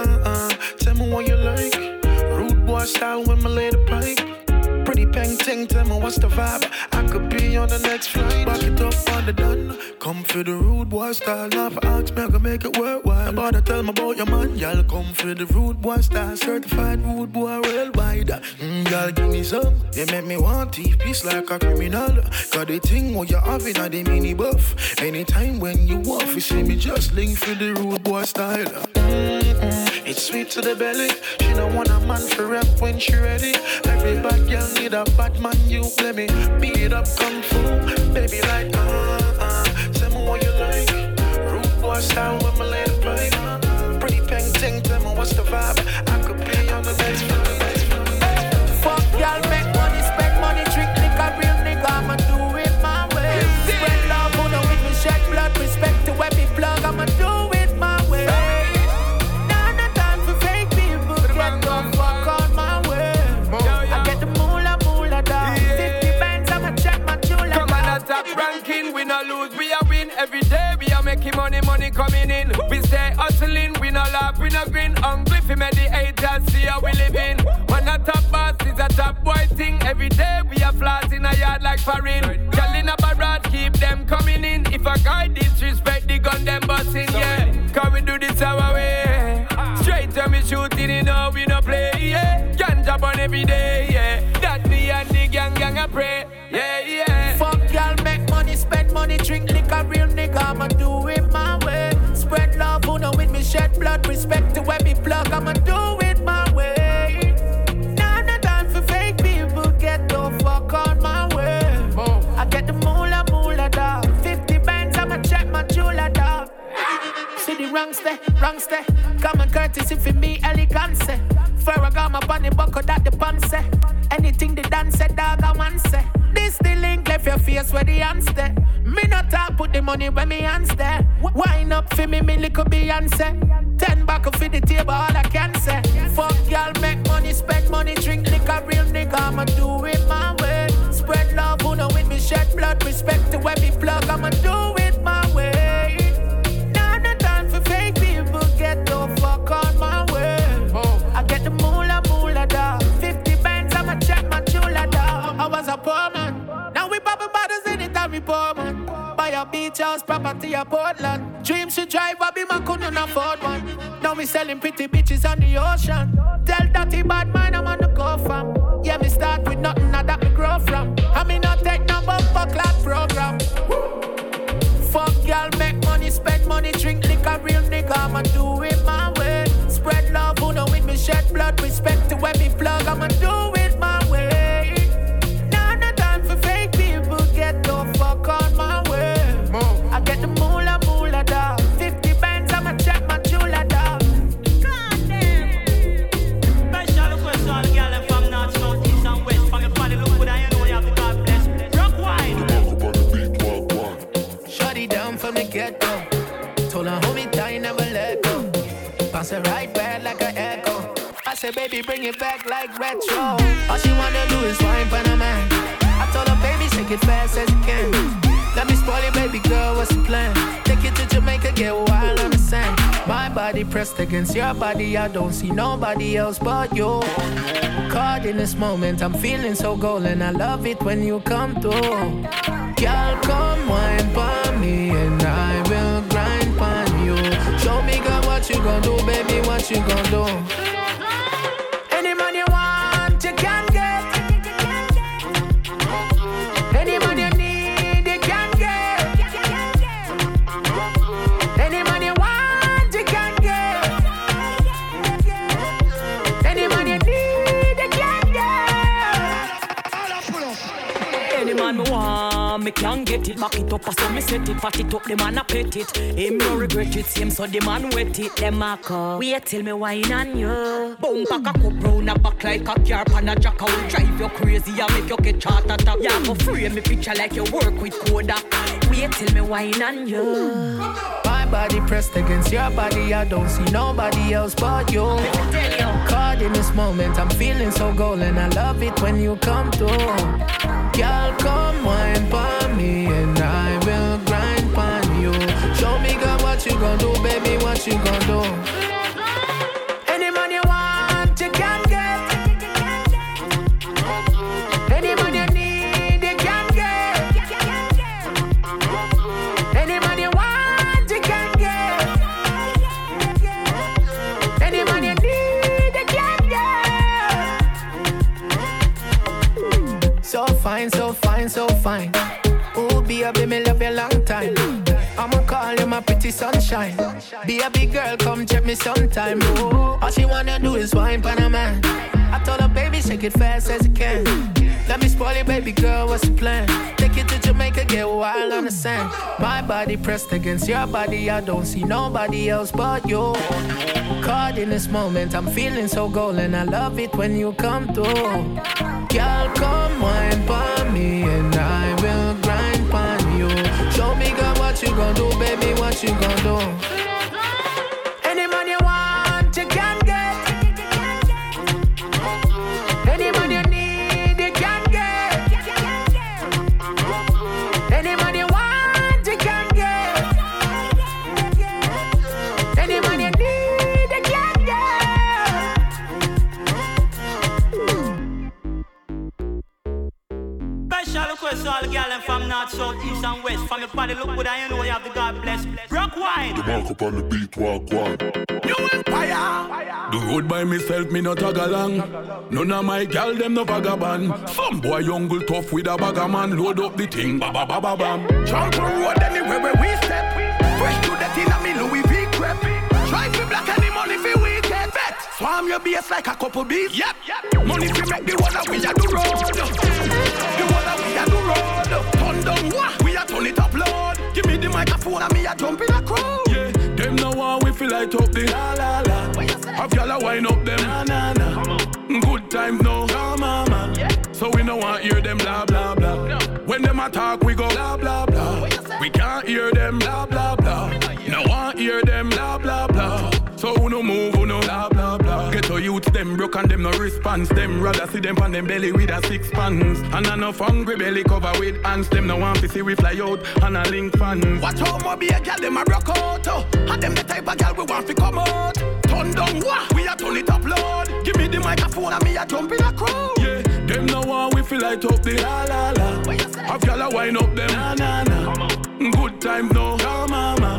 tell me what you like. Rude boy style with my lady pipe. Pretty painting, tell me what's the vibe. I could be on the next flight. Back it up on the done. Come for the rude boy style. Now for ask me, I can make it worthwhile. About to tell me about your man. Y'all come for the rude boy style. Certified rude boy worldwide. Y'all give me some. They make me want teeth piece like a criminal. Cause the thing what you have in a the mini buff. Anytime when you off, you see me just link for the rude boy style. It's sweet to the belly. She don't want a man for rap when she ready. Every bad girl need a bad man, you play me. Beat it up kung fu, baby like tell me what you like. Rude boy style with my lady pipe. Pretty painting, tell me what's the vibe. I could be on the next flight. Fuck y'all, make money, spend money, drink liquor, real nigga, I'ma do it my way. Spread love, who know with me, shed blood, respect to every plug, I'ma do it my way. Ranking, we no lose, we a win. Every day we are making money, money coming in. We stay hustling, we no laugh, we no grin. Hungry for me, the haters see how we living. When a top boss is a top boy thing. Every day we are flaws in a yard like foreign. Girl in a barrage, keep them coming in. If a guy disrespect, the gun them busting, yeah. Cause we do this our way. Straight to me shooting, you know we no play, yeah. Ganja on every day, yeah. That me and the gang I pray, yeah, yeah. Fuck y'all, make money, spend money, drink liquor, real nigga, I'ma do it my way. Spread love, who know with me, shed blood, respect to every plug, I'ma do it my way. Now no time for fake people, get the fuck on my way. I get the moolah dog. 50 bands, I'ma check my jeweler dog. See the wrong step, common courtesy for me, elegance. Ferragamo bunny buckle that the pan say. Anything the dance say, dog, I want say. This the link, left your face where the hands there. Me not talk, put the money where me hands there. Wine up for me little Beyonce. 10 back for the table, all I can say. Fuck y'all, make money, spend money, drink liquor, real nigga, I'ma do it my way. Spread love, who know with me, shed blood, respect to every plug, I'ma do it my way. Now no time for fake people, get the fuck on my way. I get the moolah dog. 50 bands, I'ma check my jeweler dog. I was a poor man, now we poppin' bottles anytime we pour man. Buy a beach house, property a Portland. Dreams to drive, I be man couldn't afford one. Now me selling pretty bitches on the ocean. Tell dirty bad man I'm on the go from. Yeah, me start with nothing, now that me grow from. I me not take no bumper clap program. Fuck y'all, make money, spend money, drink liquor, real nigga, I'ma do it my way. Spread love, who know with me, shed blood, respect to where me plug, I'ma do it my way. Now no time for fake people, get the fuck on my way. I get the moolah, moolah, dog. 50 bands, I'ma check my chula, dog. Goddamn. Special request to all the girls from north, south, east and west. From your body, look good, I know you have to God bless. Rock wine. Shut it down from the get-go. Told her, hold me tight, never let go. Bounce it right back like an echo. I said, baby, bring it back like retro. All she wanna do is wine for the man. I told her, baby, shake it fast as you can. Let me spoil it, baby girl, what's the plan? Take it to Jamaica, get wild on the sand. My body pressed against your body, I don't see nobody else but you. Caught in this moment, I'm feeling so golden. I love it when you come through. Girl, come wine for me and I will grind for you. Show me, girl, what you gon' do, baby, what you gon' do. Any man you want, you can get. Any man you need, you can get. Any man you want, you can get. Any man you need, you can get. Any man me want, me can get it. Back it up, so me set it. Fat it up, the man a pet it. Him no regret it, same so the man wet it. Them a come, wait till me wine on you. Boom, pack a cup round a back like a car pan a jack out. Drive you crazy and make you get chat attack. Yeah, go frame me picture like you work with Kodak. Wait till me wine on you. My body pressed against your body, I don't see nobody else but you. Caught in this moment, I'm feeling so golden. I love it when you come through. Girl, come wine for me and I will grind for you. Show me, girl, what you gon' do, baby, what you gon' do. Any man you want, you can get. Any man you need, you can get. Any man you want, you can get. Any man you need, you can get. So fine, so fine, so fine. Oh, baby, me love you long time. I'ma call you my pretty sunshine. Be a big girl, come check me sometime. Oh, all she wanna do is wine for a man. I told her, baby, shake it fast as you can. Let me spoil it, baby girl, what's the plan? Take it to Jamaica, get wild on the sand. My body pressed against your body, I don't see nobody else but you. Caught in this moment, I'm feeling so golden. I love it when you come through. Girl, come wine for me and I will grind for you. Show me, girl, what you gon' do, baby, what you gon' do. Any man you want, you can get. Any man you need, you can get. Any man you want, you can get. Any man you need, you can get. Special request to all the girls from north, south, east and west. From your body, look good, I know you have the God bless. Rock wine. The mark up on the beat, walk one. New Empire. The road by myself, me not tag along. None of my gal, them no vagabond. Some boy jungle tough with a bagger man. Load up the thing, ba ba ba ba bam. Jump on road anywhere where we step. Fresh to the tin of me Louis V crepe. Try to black any money for weekend bet. Swam your bass like a couple beats. Yep. Money to make the one that we a do road. The one that we a do road. Turn down what? We a turn it up loud. Give me the microphone and me a jump in a crowd. Yeah, them no one we feel like up the la la la. Have y'all a wine up them na na na. Good times no, no mama. Yeah. So we no want hear them blah blah blah. No. When them attack we go blah blah blah. We can't hear them blah blah blah. No want hear them blah blah blah. So who no move, who no blah blah blah. Get to youth them broke and them no response. Them rather see them on them belly with a 6 pants. And enough hungry belly cover with ants. Them no want to see we fly out and a link fans. Watch how my be a girl them a rock out. And them the type of girl we want to come out. Turn down what? We a turn it up loud. Give me the microphone and me a jump in a crowd. Yeah, them no one we feel like up the la la la. Have y'all a wine up them na na na. Good times no, no mama. Yeah.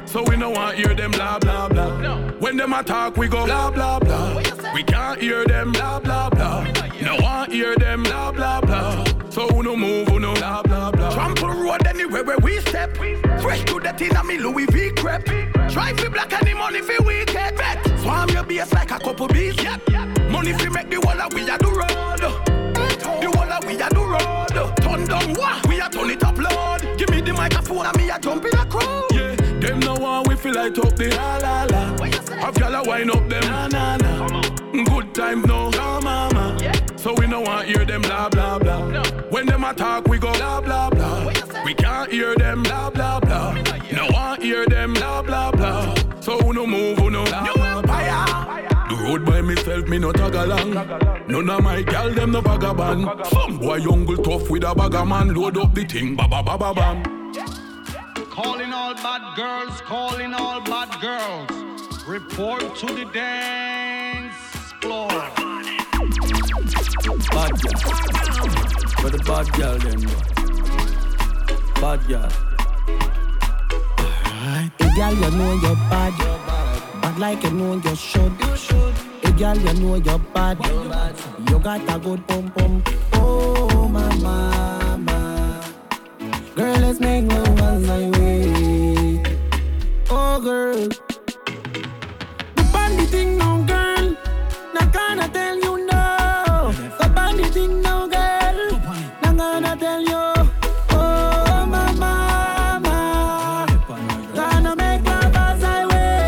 So we don't want hear them blah blah blah. When them attack we go blah blah blah. We can't hear them blah blah blah. No want hear them blah blah blah. So we no move, we no blah blah blah. Trample road anywhere where we step. Fresh to the tin of me Louis V crepe. Try fi black any money fi wicked bet. Swam your base like a couple bees. Money fi make the wall of we a do road. The wall of we a do road. Turn down what? We a turn it up loud. Give me the microphone and me a jump in a crowd. Yeah, them no one we feel like up the la la la. Have y'all a wine up them na na na. Good time no, no mama. So we no want hear them blah blah blah. When them attack we go blah blah blah. We can't hear them blah blah blah. No want hear them blah blah blah. So we no move, we no blah blah blah. The road by myself, me no tag along. None of my gal them no vagabond. Some boy young tough with a bag of man. Load up the thing, ba ba ba ba bam. Calling all bad girls, calling all bad girls. Report to the dance floor. Bad girl. For the bad girl then. Bad girl. Alright. Hey girl, you know you're bad. Bad like you know you should. Hey girl, you know you're bad. You got a good pum pum. Oh my mama. Girl, let's make love as I wait. Oh girl. The bandy thing no girl. Not gonna tell you no. The bandy thing no girl. Not gonna tell you. Oh my mama. Gonna make love as I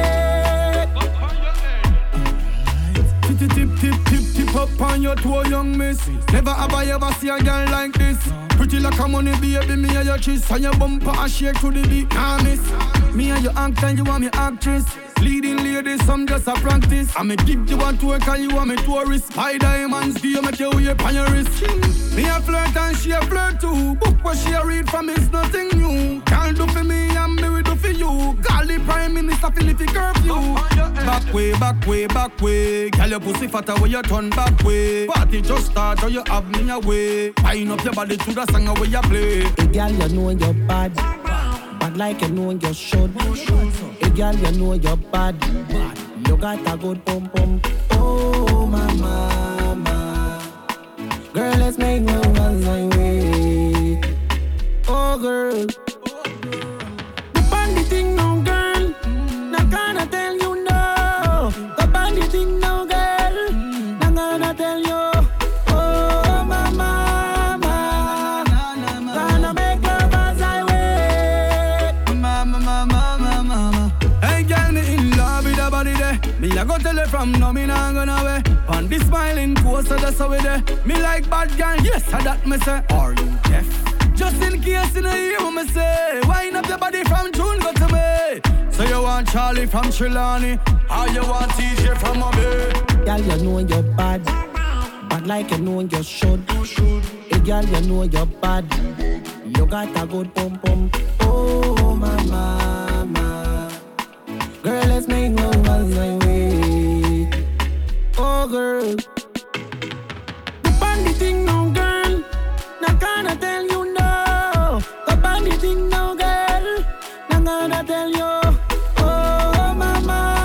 wait. Tip up on your toe, young miss. Never have I ever seen a girl like this. Pretty like a money baby, me and your kiss. And your bumper a shake to the beat, nah miss. Me and your actor, you want me actress. Leading ladies, some just a practice. I me give you one twerk and you want me tourist. Buy diamonds, do you make your way upon your wrist? Me a flirt and she a flirt too. Book what she a read from is nothing new. Can't do for me and me will do for you. Golly Prime Minister Philippi curfew. Back way, back way, back way. Girl your pussy fatter when you turn back way. Party just start or you have me away. Pine up your body to the song where you play. Hey girl, you know you're bad. Bad like you know you should. Hey girl, you know you're bad. You got a good pum pum. Oh my mama. Girl, let's make love as I wait. Oh girl. The bandy thing no girl. Not gonna tell you no. The bandy thing no girl. Not gonna tell you. Oh my mama. Gonna make love as I wait. Mama. Hey girl, me in love with her body there. Me a go tell her from now, me nah gonna away. On this smiling coast, so that's how we there. Me like bad girl, yes, I that me say. Are you deaf? Just in case you know hear what me say. Wind up your body from June, go to me. So you want Charlie from Trelawney, or you want TJ from Mobile? Girl, you know you're bad. Bad like you know you should. Hey girl, you know you're bad. You got a good pum pum. Oh my mama. Girl, let's make love as I wait. Oh girl. The bandy thing no girl. Not gonna tell you no. The bandy thing no girl. Not gonna tell you. Oh my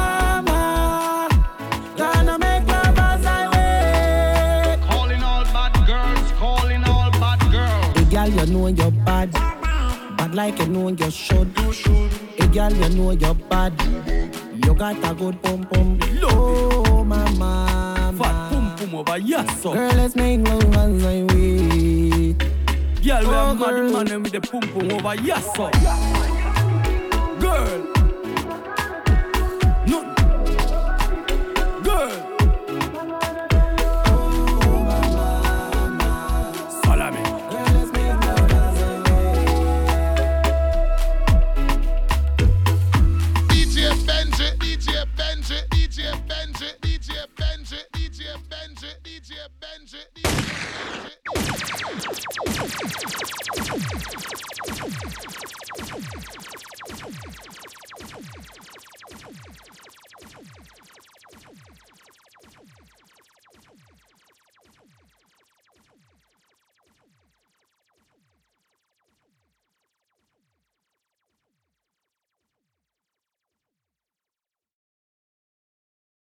mama. Gonna make love as I wait. Calling all bad girls, calling all bad girls. Hey girl, you know you're bad. Bad like you know you should. Hey girl, you know you're bad. You got a good pum pum. Oh my mama. Fat pum pum over yes so. Girl, let's make love as I wait. Girl, we Oh, have mad girl. man with the pum pum over yes so. Girl.